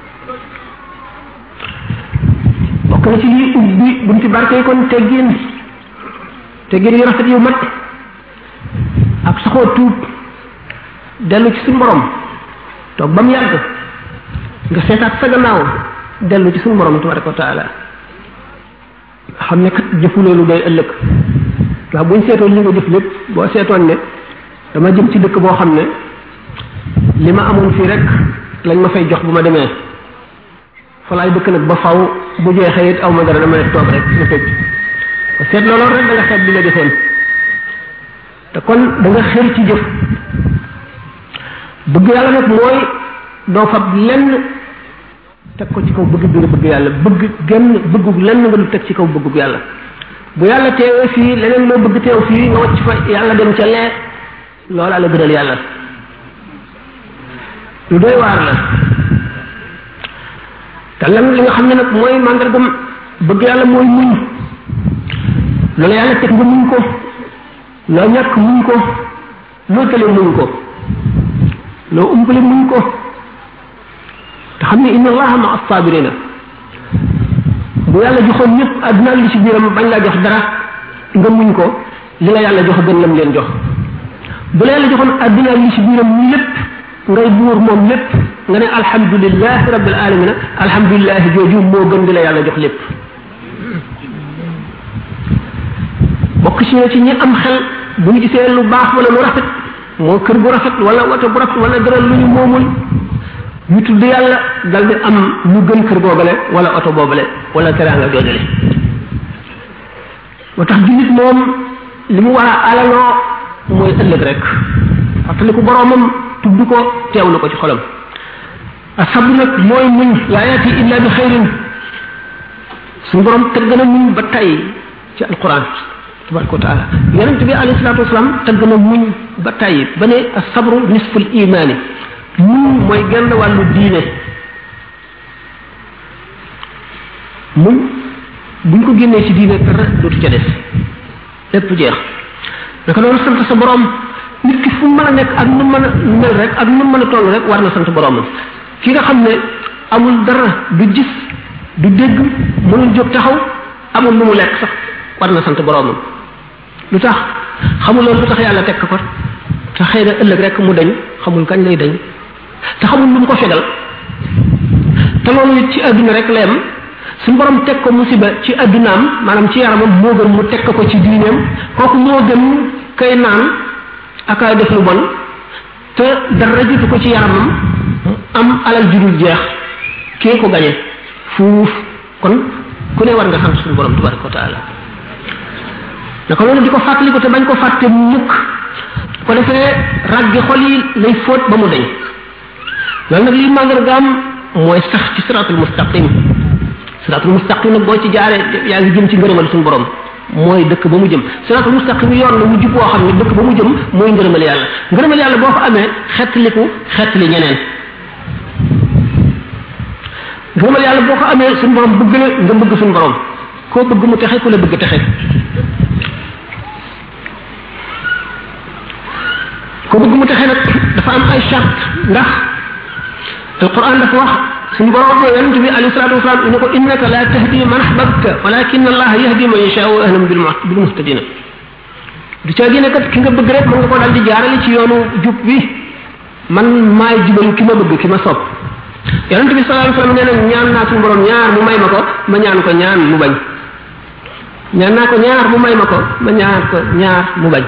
bokk na ci lii ubbi bunti barke yi kon teggin yu rafet yu mat ak saxoo tuub dellu ci suñu borom toog ba mu yàgg nga seetaat sa gannaaw dellu ci suñu borom tabaraka wa taala xam ne kat jëfu loolu day ëllëg waaw buñ seetoon li nga jëf lépp boo seetoon ne dama jëm ci dëkk boo xam ne li ma amoon fii rek lañ ma fay jox bu ma demee fa laay dëkk nag ba faw bu jeexee it aw ma dara dama toog rek nga tëj ko seet loolu rek da nga xeet bi nga defoon te kon da nga xër ci jëf bëgg yàlla nag mooy doo fab lenn teg ko ci kaw bëgg bi nga bëgg yàlla bëgg genn bëggug lenn nga du teg ci kaw bëggug yàlla bu yàlla teewee fii leneen loo bëgg teew fii nga wacc fa yàlla dem ca lee loola la gënal yàlla lu doy waar la te lan li nga xam ne nag mooy màndargam bëgg yàlla mooy muñ loolu yàlla teg nga muñ ko loo ñàkk muñ ko loo tële muñ ko loo umpale muñ ko te xam ne inna allaha ma as-sabirina bu yàlla joxoon ñëpp àdduna li ci biiram bañ laa jox dara nga muñ ko li la yàlla jox gën lam leen jox bu la yàlla joxoon àdduna li ci biiram lépp ngay buur moom lépp nga ne alhamdulillahi rabbil alamin alhamdulillahi jooju moo gën di la yàlla jox lépp bokk ci ñi am xel bu ñu gisee lu baax wala lu rafet moo kër bu rafet wala oto bu rafet wala dara lu ñu moomul ñu tudd yàlla dal di am lu gën kër boobale wala oto boobale wala teraanga joojale moo tax jullit moom li mu war a alaloo mooy ëllëg rek fàttaliku boroomam tudd ko teewlu ko ci xolam asabru nag mooy muñ laa yaati illa bi xayrin suñu borom tëgg na muñ ba tey ci alquran tabaraka wa taala yonent bi alayhi salatu wasalaam tëgg na muñ ba tey ba ne asabru nisful imaani muñ mooy genn wàllu diine muñ buñ ko génnee ci diine dara dootu ca des lépp jeex naka noonu sant sa borom nit ki fu mën a nekk ak nu mën a mel rek ak nu mën a toll rek war na sant boromam ki nga xam ne amul dara du gis du dégg mënul jóg taxaw amul lu mu lekk sax war na sant boromam lu tax xamul loolu lu tax yàlla tekk ko te xëy na ëllëg rek mu dañ xamul kañ lay dañ te xamul lu mu ko fegal te loolu ci àdduna rek la yem suñu borom teg ko musiba ci addunaam maanaam ci yaramam moo gën mu teg ko ci diineem kooku moo gën kay naan akaay def lu bon te dara jiitu ko ci yaramam am alal judul jeex kee ko gañe fuuf kon ku ne war nga sant suñu borom tabaraka wa taala naka loolu di ko fàttali ko te bañ ko fàtte mukk ko defee raggi xol yi lay fóot ba mu dañ loolu nag liy màndargaam mooy sax ci siratul mustaqim siratul mustaqim nag boo ci jaaree yaa ngi jëm ci ngërëmal suñu borom mooy dëkk ba mu jëm siratul mustaqim yoon la mu jub woo xam ne dëkk ba mu jëm mooy ngërëmal yàlla boo ko amee xettaliku xettali ñeneen ngërëmal yàlla boo ko amee suñu borom bëgg la nga bëgg suñu borom koo bëgg mu texe ku la bëgg texe ko bëgg mu texe nag dafa am ay charte ndax alquran dafa wax suñu borom yonent bi alayhi salatu wasalam ne ko innaka la tahdi man ahbabta walakin allah yahdi man yasha'u ahlam bil muhtadin du ca gene kat ki nga bëgg rek mën nga ko dal di jaarale ci yoonu jub bi man maay jubal ki ma bëgg ki ma sopp yonent bi sallallahu alayhi wasallam nee na ñaan naa suñu borom ñaar mu may ma ko ma ñaan ko ñaan mu bañ ñaan naa ko ñaar mu may ma ko ma ñaan ko ñaar mu bañ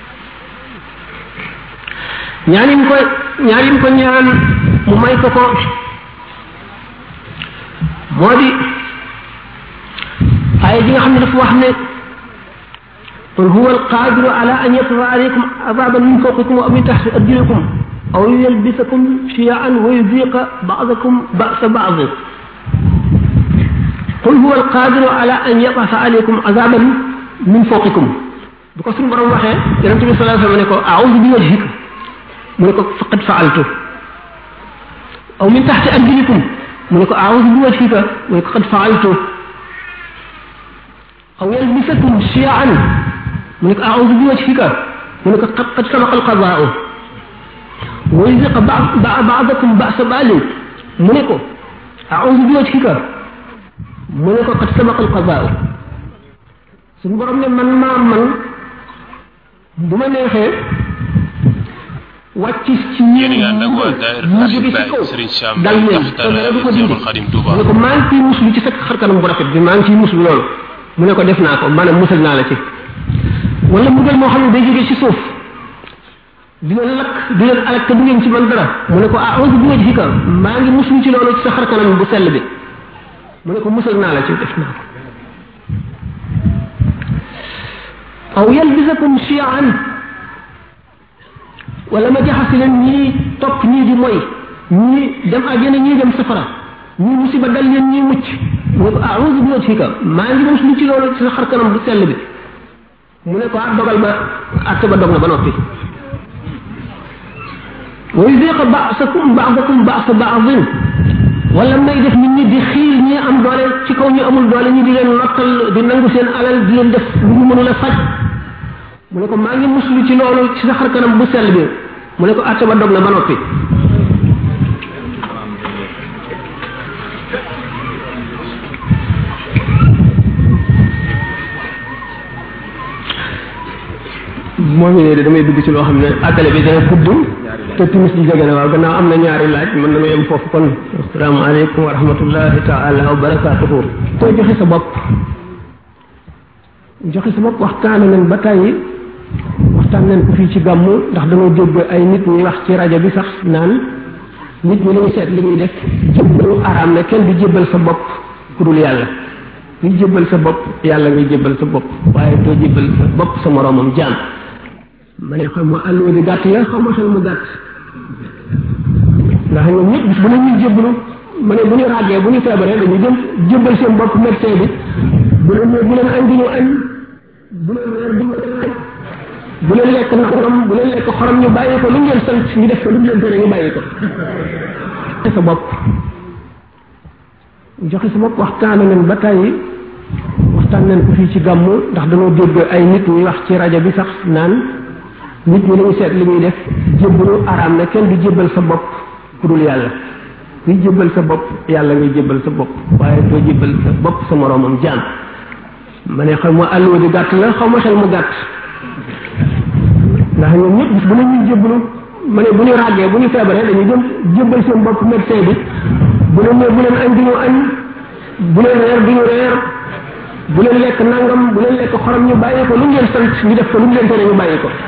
ñaanim ko ñaan mu may ko ko moo di ay ji nga xam ne dafa wax ne qul huwa alqadiru ala an yafra alaykum azaban min fawqikum aw min tahti arjulikum aw yalbisakum shi'an wa yuziqa ba'dakum ba'sa ba'd qul huwa alqadiru ala an yab'atha alaykum azaban min fawqikum bu ko suñu borom waxee yonent bi sallallahu alayhi wasallam ne ko a'udhu bi wajhika mu ne ko faqad fa'altu aw min tahti arjulikum mu ne ko a'udhu bi wajhika mu ne ko qad fa'altu aw yalbisakum shi'an mu ne ko a'udhu bi wajhika mu ne ko qad sabaqa al-qada'u wa yuziqa ba'dakum ba'sa ba'd mu ne ko a'udhu bi wajhika mu ne ko qad sabaqa al-qada'u suñu borom ne man bu ma neexee wàcc ci ñeen ñu jóge ci kaw dal leen du ko dindi mu ne ko maa ngi ciy muslu ci sa xarkanam bu rafet bi maa ngi ciy muslu loolu mu ne ko def naa ko maanaam musal naa la ci wala mbugal moo xam ne day jóge ci suuf di leen lakk di leen alak te du ngeen ci man dara mu ne ko a'udhu bi wajhika maa ngi muslu ci loolu ci sa xarkanam bu sell bi mu ne ko musal naa la ci def naa ko aw yalbisakum shi'an wala ma jaxasi leen ñii topp ñii di moy ñii dem àjjana ñii dem safara ñii musiba dal leen ñii mucc mu ne ko a'udhu bi wajhika maa ngi muslu ci loolu ci sa xar kanam bu sell bi mu ne ko dogal ba atte ba dog na ba noppi wa yuziqa ba'dakum ba'sa ba'din wala may def nit ñi di xiir ñi am doole ci kaw ñu amul doole ñi di leen nottal di nangu seen alal di leen def lu ñu mënul a faj mu ne ko maa ngi muslu ci loolu ci sa xar kanam bu sell bi mu ne ko atte ba dog na ba noppi moo ngi ne damay dugg ci loo xam ne àggale bi dana gudd te timis di jege na waaw gannaaw am na ñaari laaj mën nañu yem foofu kon asalaamaaleykum wa rahmatullahi taala wa barakaatuhu te joxe sa bopp waxtaan nañ ba tàyyi waxtaan nañ ko fii ci gàmmu ndax dañoo dégg ay nit ñuy wax ci rajo bi sax naan nit ñi lañu seet li ñuy def jébbalu araam ne kenn du jébbal sa bopp ku dul yàlla kuy jébbal sa bopp yàlla ngay jébbal sa bopp waaye doo jébbal sa bopp sa moroomam jaam ma ne xam ma àlluwa di gàtt ya xaw ma xel mu gàtt ndax ñoom ñëpp bis bu ne ñuy jébbalu ma ne bu ñu ràggee bu ñu feebaree dañu jëm jébbal seen bopp médecin bi bu leen añ di ñu añ bu leen reer di ñu reer bu leen lekk nangam bu leen lekk xorom ñu bàyyi ko lu ngeen sant ñu def ko lu leen tere ñu bàyyi ko sa bopp joxe sa bopp waxtaan nañ ba tàyyi waxtaan nañ ko fii ci gàmmu ndax dañoo dégg ay nit ñuy wax ci rajo bi sax naan nit ñi lañu seet li ñuy def jébbalu araam ne kenn du jébbal sa bopp ku dul yàlla kuy jébbal sa bopp yàlla ngay jébbal sa bopp waaye doo jébbal sa bopp sa moroomam jaam ma ne xaw ma àlluwa di gàtt la xaw ma xel mu gàtt ndax ñoom ñëpp bis bu ne ñuy jébbalu ma ne bu ñu ràggee bu ñu feebaree dañu jëm jébbal seen bopp médecin bi bu leen añ di ñu añ bu leen reer di ñu reer bu leen lekk nangam bu leen lekk xorom ñu bàyyi ko lu ngeen sant ñu def ko lu leen tere ñu bàyyi ko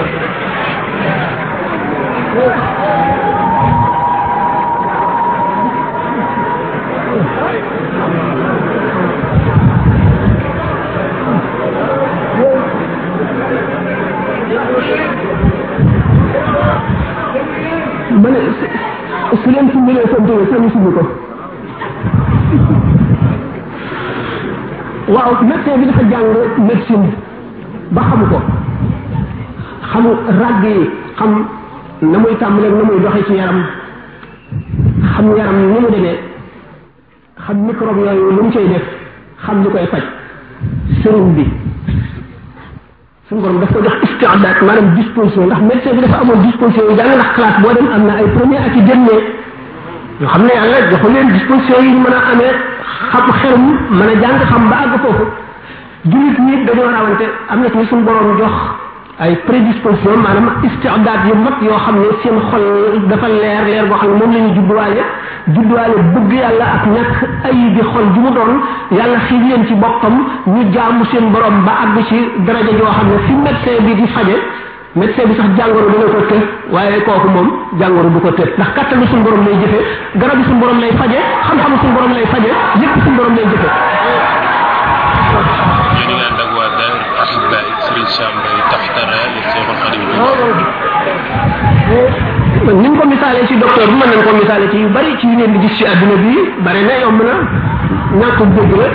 ma ne su leen sumbilee sant seen sumbi ko waaw médecin bi dafa jàng médecine ba xam ko xam ràgg yi xam na muy tàmbalee na muy doxee ci yaram xam yaram ni mu demee xam microbe yooyu lu mu koy def xam li koy faj sëriñ bi suñu borom daf ko jox istiadaat maanaam disposition ndax médecin bi dafa amoon disposition yu jàng ndax classe boo dem am na ay premier ak i dernier yoo xam ne yàlla joxu leen disposition yi ñu mën a amee xam xelum mën a jàng xam ba àgg foofu jullit ñi dañoo rawante am na ci suñu borom jox ay prédisposition maanaam istiadaat yu mat yoo xam ne seen xol dafa leer boo xam ne moom la ñu judduwaale bëgg yàlla ak ñàkk ay bi xol ju mu doon yàlla xiir leen ci boppam ñu jaamu seen borom ba àgg ci daraja joo xam ne fi médecin bi di faje médecin bi sax jàngoro dina ko të waaye kooku moom jàngoro du ko të ndax kattanu suñu borom lay jëfe garab yi suñu borom lay faje xam-xamu suñu borom lay faje lépp suñu borom lay jëfe ni ñu ko misaalee ci docteur bi mën nañ ko misaalee ci yu bari ci yu ngeen di gis ci àdduna bi bari na yomb na ñàkk dégg la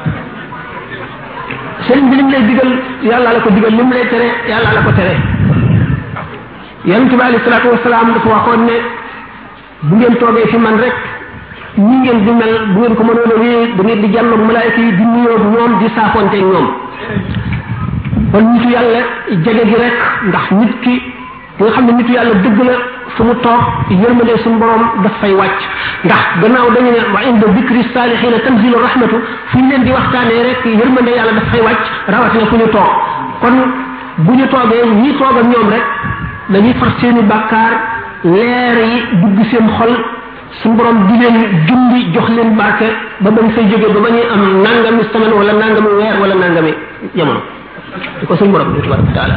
sëriñ bi lim lay digal yàlla la ko digal lim lay tere yàlla la ko tere yonent bi alayhi salaatu wasalaam dafa waxoon ne bu ngeen toogee fi man rek ñi ngeen di mel bu ngeen ko mënoon a wéy da ngeen di jàlloog malaayka yi di nuyoo ñoom di saafonte ñoom kon nitu yàlla jege gi rek ndax nit ki nga xam ne nitu yàlla dëgg la fu mu toog yërmande suñu borom daf fay wàcc ndax gannaaw dañu ne wa inda dikri saalihiina tanzilu rahmatu fu ñu leen di waxtaanee rek yërmande yàlla daf fay wàcc rawatina fu ñu toog kon bu ñu toogee ñi toog ak ñoom rek dañuy far seeni bàkkaar leer yi dugg seen xol suñu borom di leen jundi jox leen barke ba bañ fay jógee ba ba ñuy am nangami semaine wala nangami weer wala nangami jamono di ko suñu borom di tabaraka taala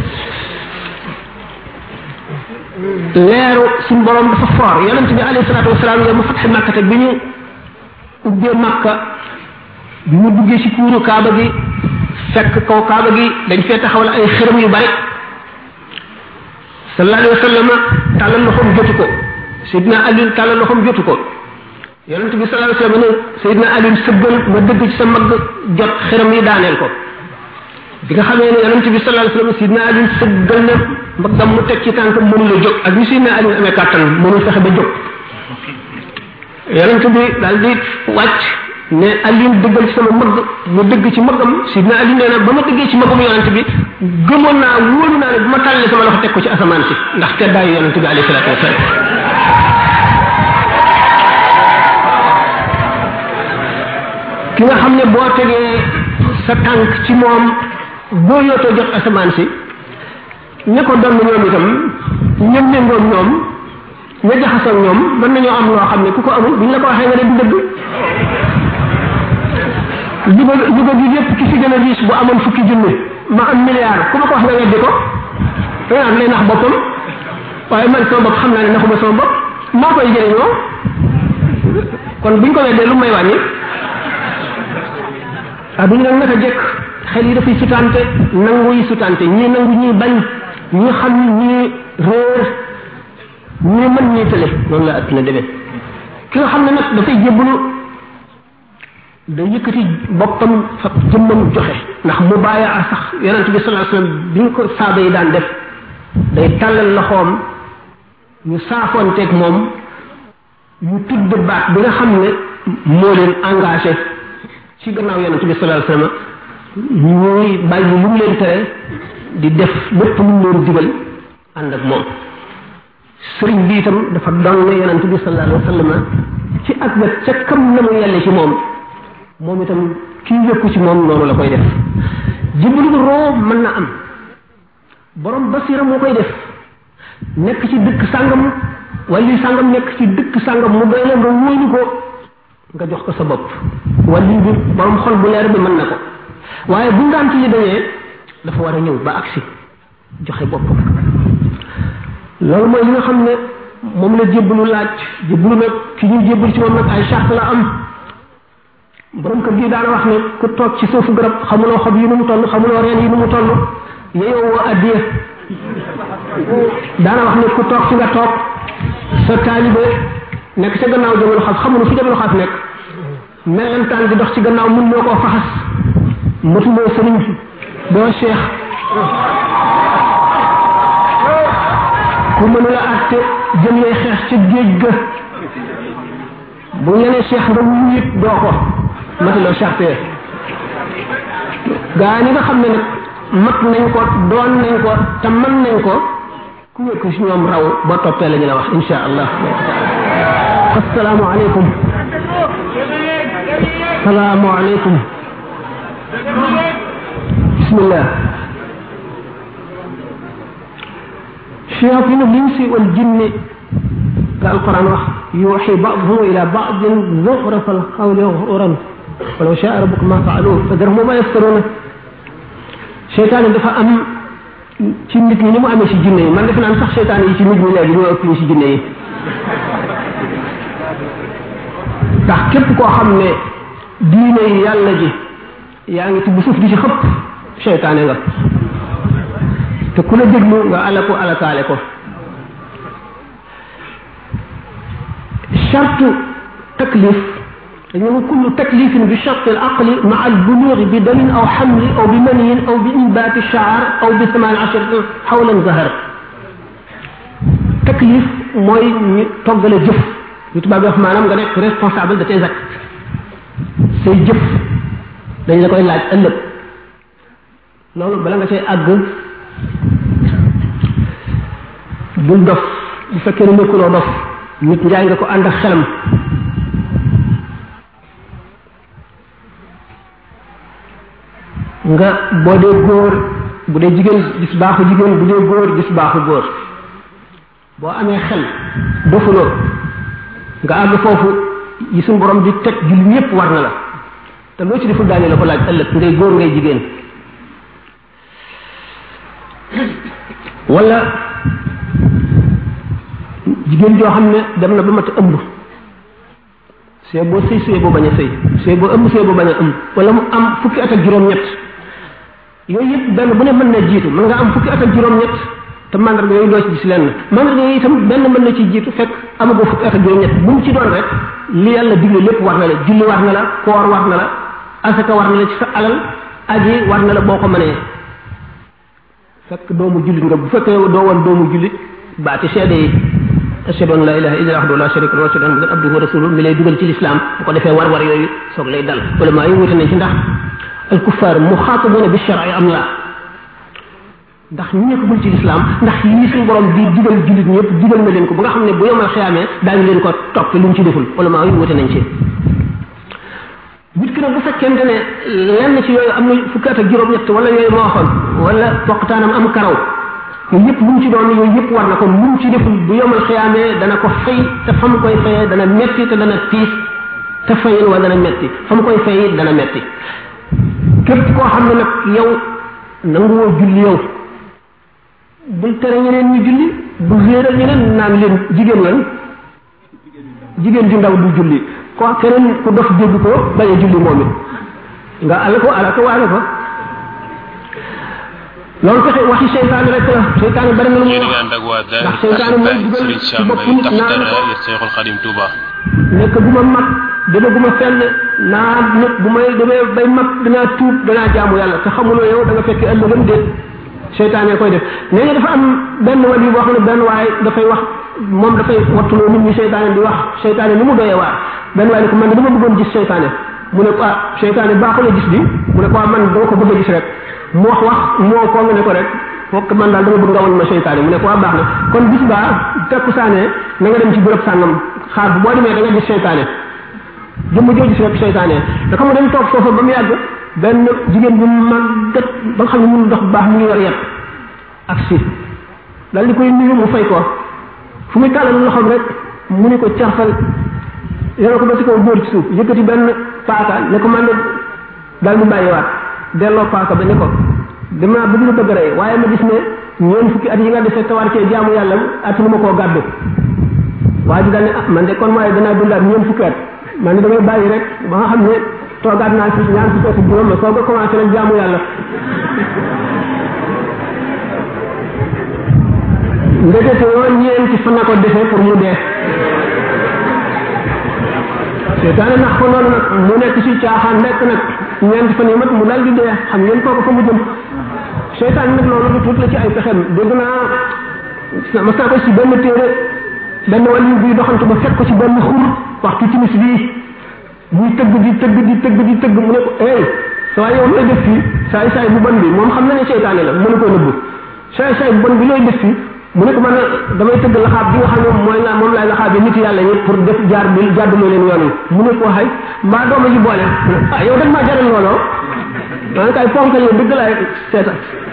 leeru suñu borom dafa foor yonent bi alayhi salaatu wasalaam yow mu fatxe Makka te bi ñu ubbee Makka bi mu duggee ci kuuru Kaaba gi fekk kaw Kaaba gi dañ fee taxawal ay xërëm yu bari sallallahu alayhi wa sallam tàllal loxoom jotu ko Seydina Ali tàllal loxoom jotu ko yonent bi sallallahu alayhi wa sallam ne Seydina Ali sëggal ma dëgg ci sa mag jot xërëm yi daaneel ko bi nga xamee ne yonent bi sallallahu alayhi wa sallam Seydina Ali sëggal na mbaggam mu teg ci tànk mënu la jóg ak ni Seydina Ali amee kàttan mënul fexe ba jóg yonent bi daal di wàcc ne Ali dëggal ci sama mbagg mu dëgg ci mbaggam Seydina Ali nee na ba ma dëggee ci mbaggam yonent bi gëmoon naa wóolu naa ne bu ma tàllee sama loxo teg ko ci asamaan si ndax teddaayu yonent bi alayhi salaatu wasalaam ki nga xam ne boo tegee sa tànk ci moom boo yootoo jot asamaan si ña ko doon ñoom itam ñëm méngoog ñoom ña jaxasoog ñoom mën nañoo am loo xam ne ku ko amul buñ la ko waxee nga ne du dëgg Louga gi yépp ki fi gën a riche bu amoon fukki junni ma am milliard ku ma ko wax nga weddi ko danaan lay nax boppam waaye man sama bopp xam naa ne naxuma sama bopp maa koy jëriñoo kon buñ ko weddee lu may wàññi adduna nag naka jekk xel yi dafay sutante nangu yi sutante ñii nangu ñii bañ ñii xam ñii réer ñii mën ñii tële noonu la adduna demee ki nga xam ne nag dafay jébbalu day yëkkati boppam fa jëmmam joxe ndax mu bàyyi a sax yonent bi sallallahu alayhi wasallam bi ñu ko saaba yi daan def day tàllal loxoom ñu saafoonteeg moom ñu tudd baat bi nga xam ne moo leen engagé ci gannaaw yonent bi sallallahu alayhi wasallam ñuy bàyyi lu mu leen tere di def lépp lu mu leen digal ànd ak moom sëriñ bi itam dafa doon ne yonent bi sallallahu alayhi wasallam ci ak wet ca kam na mu yelle ci moom itam kii yëkku ci moom noonu la koy def jiblu roo mën na am borom basira moo koy def nekk ci dëkk sàngam wali sàngam nekk ci dëkk sàngam mu doy la nga wóolu ko nga jox ko sa bopp wali bi borom xol bu leer bi mën na ko waaye bu ngant yi dañee dafa war a ñëw ba agsi joxe boppam loolu mooy li nga xam ne moom la jébbalu laaj jébbalu nag ki ñuy jébbal ci moom nag ay charte la am borom kër gi daana wax ne ku toog ci suufu garab xamuloo xob yi nu mu toll xamuloo reen yi nu mu toll yeyoo woo addiya daana wax ne ku toog ci nga toog sa taalibe nekk ca gannaaw jamono xaaf xamunu fi jamono xaaf nekk melentaan di dox ci gannaaw mun moo koo faxas matuloo sëriñ doo cheikh ku mënula àtte jëm lay xeex ca géej ga bu ñenee cheikh nga wuyit doo ko matuloo charte gaa ñi nga xam ne nag mat nañ ko doon nañ ko te mën nañ ko ku nekk ci ñoom raw boo toppee la ñu la wax insha allah assalaamu aleykum salaamu aleykum bismillah shayatin al-insi wal jinni ka alquran wax yuuxi ba'duhum ila ba'din zuxrafa al-qawli ghururan walaw sha'a rabbuka ma fa'aluhu fadarhum ma yaftaruna seytaane dafa am ci nit ñi ni mu amee ci jinne yi man defe naan sax seytaane yi ci nit ñi léegi ñoo ëpp ñu ci jinne yi ndax képp koo xam ne diine yi yàlla ji yaa ngi tibb suuf di ci xëpp seytaane nga te ku la déglu nga ala ko alakaale ko chartu taklif dañu kullu taklifin bi charte al aqli ma al bulugh bi damin aw hamli aw bi maniyin aw bi inbaati shaar aw bi 18 xawlan zahar taklif mooy ñu toggale jëf lu tubaab yi wax maanaam nga nekk responsable de tes actes say jëf dañ la koy laaj ëllëg loolu bala nga cay àgg bul dof bu fekkee ne nekkuloo dof nit njaay nga ko ànd ak xelam nga boo dee góor bu dee jigéen gis baaxu jigéen bu dee góor gis baaxu góor boo amee xel dofuloo nga àgg foofu yi suñu borom di teg jullit ñépp war na la te loo ci deful daañu la ko laaj ëllëg ngay góor ngay jigéen wala jigéen joo xam ne dem na ba mat ëmb see boo sëy see boo bañ a sëy see boo ëmb see boo bañ a ëmb wala mu am fukki at ak juróom-ñett yooyu yëpp benn bu ne mën na jiitu mën nga am fukki at ak juróom-ñett te mandarga yooyu doo ci gis lenn mandarga yooyu itam benn mën na ci jiitu fekk amagoo fukki at ak juróom-ñett bu mu ci doon rek li yàlla digle lépp war na la julli war na la koor war na la asaka war na la ci sa alal aji war na la boo ko mënee fekk doomu jullit nga bu fekkee doo woon doomu jullit baati seede yi ashhadu an la ilaha illa allah la sharika lahu wa ashhadu anna abduhu wa rasuluhu mi lay dugal ci l'islam bu ko defee war yooyu soog lay dal ulama yi wute nañ ci ndax al kuffar muxaatabuna bi shar'i am la ndax ñu nekkagul ci l'islam ndax yi suñu borom di digal jullit ñëpp digal na leen ko ba nga xam ne bu yomal xiyaamee daañu leen ko topp lu mu ci deful ulama yi wute nañ ci nit ki nag bu fekkente ne lenn ci yooyu am na fukki at ak juróom-ñett wala yooyu ma waxoon wala poqtaanam am karaw yooyu yëpp lu mu ci doon yooyu yëpp war na ko lu mu ci deful bu yomal xiyaamee dana ko fay te fa mu koy fayee dana metti te dana tiis te fayin wa dana metti fa mu koy fay dana metti képp koo xam ne nag yow nanguwoo julli yow bul tere ñeneen ñu julli bu réeral ñeneen naan leen jigéen lan jigéen ju ndaw du julli ko keneen ku dof dégg ko bañ a julli moom it nga ala ko waale ko loolu fexe waxi seytaane rek la seytaane bari na lu mu wax ndax seytaane mooy dugal ci bopp nit naan Cheikhul Khadim Touba nekk bu ma mag dama bu ma fenn naa nit bu may demee bay mag danaa tuub danaa jaamu yàlla te xamuloo yow da nga fekk ëllëgam déet seytaane koy def nee nga dafa am benn wali boo xam ne benn waaye dafay wax moom dafay wattuloo nit ñi seytaane di wax seytaane ni mu doyee waar benn waaye ne ko man dama bëggoon gis seytaane mu ne ko seytaane baaxul a gis di mu ne ko man dama ko bëgg a gis rek mu wax moo ko nga ne ko rek fokk man daal dama bëgg nga wan ma seytaane mu ne ko baax na kon bis baa takkusaane na nga dem ci bërëb sàngam xaar bu boo demee da nga gis seytaane jëmm joo gis rek seytaane da xam dem toog foofa ba mu yàgg benn jigéen bu màggat ba nga xam ne mënu dox bu baax mu ngi yor yet ak si dal di koy nuyu mu fay ko fu muy tàllal loxoom rek mu ni ko carfal yore ko ba ci kaw dóor ci suuf yëkkati benn paaka ne ko man daal mu bàyyiwaat delloo paaka ba ne ko dama bëgg lu bëgg rey waaye ma gis ne ñeen fukki at yi nga defee tawar cee jaamu yàlla at nu ma koo gàddu waa ji daal ne man de kon waaye danaa dundaat ñeen fukki at man ne damay bàyyi rek ba nga xam ne toogaat naa fi ñaar fukki at juróom ma soog a commencé nag jaamu yàlla ndekete yoo ñeenti fan na ko defee pour mu dee seytaane nax ko noonu nag mu nekk ci caaxaan nekk nag ñeenti fan yi mat mu dal di dee xam ngeen kooku fa mu jëm seytaane nag loolu lu tuut la ci ay pexem dégg naa mas naa ko ci benn téere benn wàllu buy doxantu ba fekk ko ci benn xur waxtu timis bii muy tëgg di tëgg mu ne ko saa yow looy def fii saay bu bon bi moom xam na ne seytaane la mënu ko nëbb saay bu bon bi looy def fii mu ne ko man damay tëgg laxaab bi nga xam ne moom laay laxaab bi nit yàlla ñi pour def jaar bi jàdduloo leen yoon yi mu ne ko xay mbaa dooma ji boole yow dag maa jaral looloo man kay ponkal yow dëgg laay seeta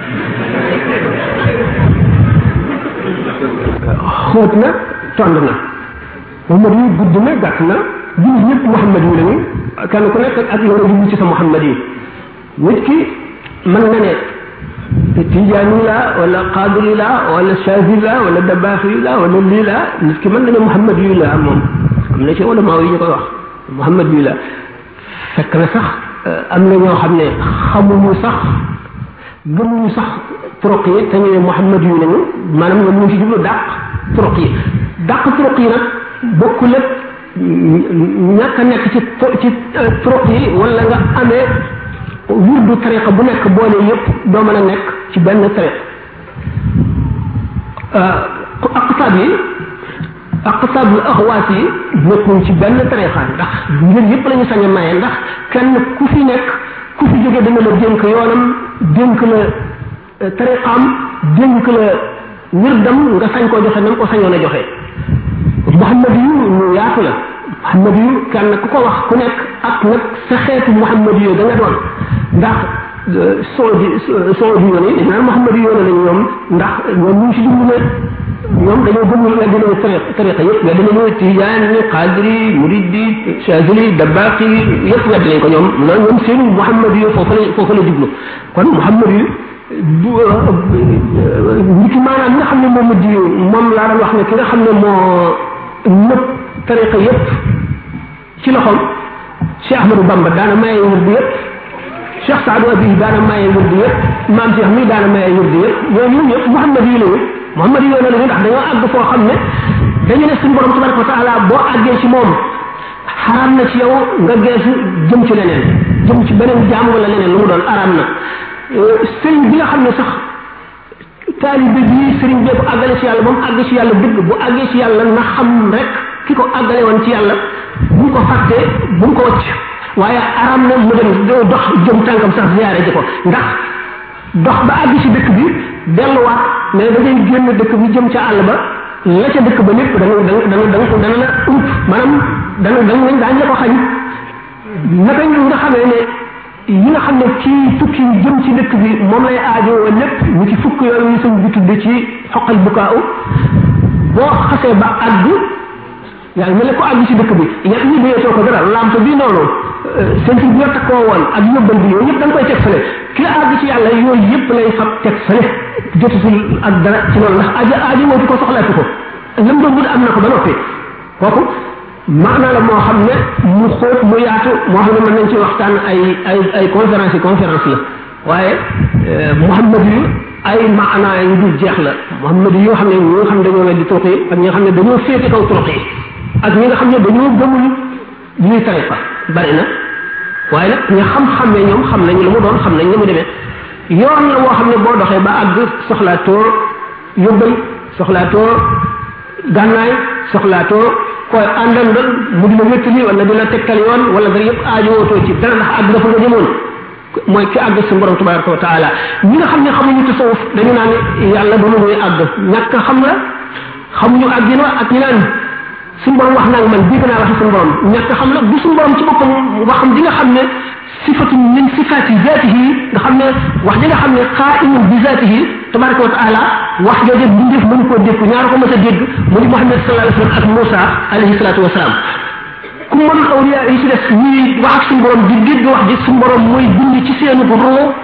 xóot na tond na Muhammad yi gudd na gàtt na jullit ñëpp Muhammad yi lañu kenn ku nekk ak yow nga ci sa Muhammad yi nit ki mën na ne tijaani la wala qadiri la wala shafi la wala dabaxi la wala lii la nit ki mën na ne Muhammad yi la moom am na ci wala maaw yi ñu koy wax Muhammad yi la fekk na sax am na ñoo xam ne xamuñu sax gëmuñu sax turuq yi te ñu ne Muhammad yi lañu maanaam ñoom ñu ci jublu dàq turuq yi nag bokkul ak ñàkk a nekk ci turuq yi wala nga amee wirdu tariqa bu nekk boole yëpp doo mën a nekk ci benn tariqa aqtaab axwaat yi nekkuñ ci benn tariqa ndax ngir yëpp la ñu sañ a maye ndax kenn ku fi nekk ku fi jóge dana la dénk yoonam dénk la tariqaam dénk la wirdam nga sañ koo joxe na nga ko sañoon a joxe Muhammad yu ñu yaatu la Muhammad yu kenn ku ko wax ku nekk ak nag sa xeetu Muhammad yu da nga doon ndax soodi yoon yi dañ naan Muhammad yu yoon lañu ñoom ndax ñoom ñu ngi si jublu ne ñoom dañoo gëmul nga dinañu tariqa yëpp nga dinañu tijaani qadiri muridi chazili dabaqi yëpp nga dinañ ko ñoom loolu ñoom seen Muhammad yu foofu la jublu kon Muhammad yu nit maanaam nga xam ne moom di moom laa doon wax ne ki nga xam ne moo nëpp tariqa yëpp ci loxoom Cheikh Ahmadou Bamba daana maye wird yëpp Cheikh Saadu Abi daana maye wird yëpp maam Cheikh mi daana maye wird yëpp ñooñu ñëpp Muhammad yi lañu Muhammad yi lañu ndax dañoo àgg foo xam ne dañu ne suñu borom tabaraka wa taala boo àggee ci moom xaraam na ci yow nga geesu jëm ci leneen jëm ci beneen jaam wala leneen lu mu doon araam na sëriñ bi nga xam ne sax taalibe bi sëriñ bee ko àggale ci yàlla ba mu àgg ci yàlla dëgg bu àggee ci yàlla na xam rek ki ko àggale woon ci yàlla bu ko fàttee bu mu ko wacc waaye aram na mu dem dox jëm tànkam sax ziyaare ji ko ndax dox ba àgg ci dëkk bi delluwaat mais da ngay génn dëkk bi jëm ca àll ba la ca dëkk ba lépp dana la ump maanaam daañu la ko xañ naka nga xamee ne yi nga xam ne ci tukki jëm ci dëkk bi moom lay aajowoo lépp ñu ci fukk yooyu ñu sëñ bi tudde ci xoqal bukaaw boo xasee ba àgg yaa ngi mel ne ko àgg ci dëkk bi ñett ñi doyatoo ko dara lampe bi noonu sentir bi nga takkoo woon ak yóbbal bi yooyu yëpp da nga koy teg fële ki àgg ci yàlla yooyu yëpp lay fab teg fële jotutul ak dara ci loolu ndax aajo woo ko soxlaatu ko lam doon wut am na ko ba noppi kooku maanaa la moo xam ne mu xóot mu yaatu moo xam ne mën nañ ci waxtaan ay conférence la waaye Muhammad yi ay maanaa yu dul jeex la Muhammad yi yoo xam ne ñi nga xam ne dañoo weddi turuq yi ak ñi nga xam ne dañoo féete kaw turuq yi ak ñi nga xam ne dañoo gëmul ñuy tariqa bari na waaye nag ñi xam-xam ne ñoom xam nañ lu mu doon xam nañ ni mu demee yoon la woo xam ne boo doxee ba àgg soxlaatoo yóbbal soxlaatoo gànnaay soxlaatoo koy àndandal mu di la wéttali wala di la tegtal yoon wala dara yëpp aajowootoo ci dara ndax àgg dafa nga jëmoon mooy ki àgg sa borom tabaraka wa taala ñi nga xam ne xamuñu tasawuf dañu naan yàlla ba mu muy àgg ñàkk xam la xamuñu àggin wa ak ñi naan suñu borom wax naa man dégg naa waxi suñu borom ñàkk xam la du suñu borom ci boppam waxam di nga xam ne sifatu min sifati zatihi nga xam ne wax ji nga xam ne qaimun bi zatihi tabaraka wa taala wax jooju bindeef mënu koo dégg ñaar ko mës a dégg mu di Muhammad sallallahu alayhi wa sallam ak Moussa alayhi salatu wasalaam ku mënul awliya yi ci def ñuy wax ak suñu borom di dégg wax ji suñu borom mooy bind ci seenu roo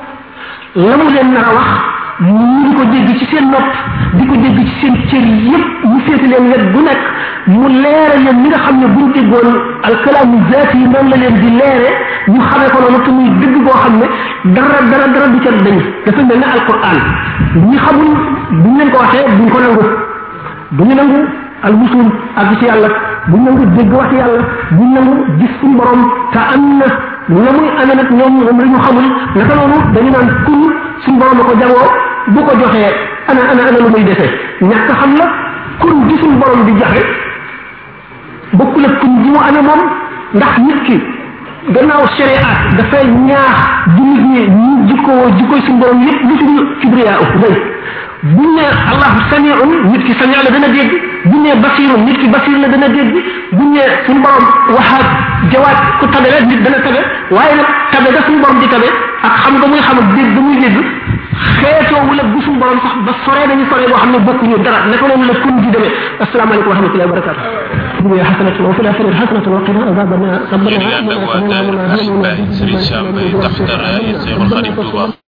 la mu leen nar a wax ñu di ko dégg ci seen nopp di ko dégg ci seen cër yépp ñu féete leen wet bu nekk mu leere leen ñi nga xam ne buñ déggoon alkalaamu zaati yi noonu la leen di leere ñu xamee ko noonu te muy dëgg boo xam ne dara du ca dañ dafa mel ne alquran ñi xamul buñ leen ko waxee duñ ko nangu duñu nangu al wusul ak ci yàlla buñ nangu dégg wax yàlla buñ nangu gis suñu borom te am na la muy amee nag ñoom moom la ñu xamul naka noonu dañu naan kun suñu borom a ko jagoo bu ko joxee ana lu muy defee ñàkk xam la kun gi suñu borom di joxe bokkul ak kun gi mu amee moom ndax nit ki gannaaw shariat dafay ñaax jullit ñi ñu jikkoy suñu borom yépp lu tudd kibriya rëy buñ ne allah samiun nit ki sami'a la dana dégg buñ ne basirun nit ki basir la dana dégg buñ ne suñu borom waxaat jawaat ku tabe la nit dana tabe waaye nag tabe ga suñu borom di tabe ak xam nga muy xam ak dégg ga muy dégg xeetoo wala bu suñu borom sax ba soree nañu soree boo xam ne bokkuñu dara naka noonu la kun di demee asalaamaaleykum wa rahmatullahi wa barakatuh dunya hasanatan wa fil akhirati hasanatan wa qina adhaban nar rabbana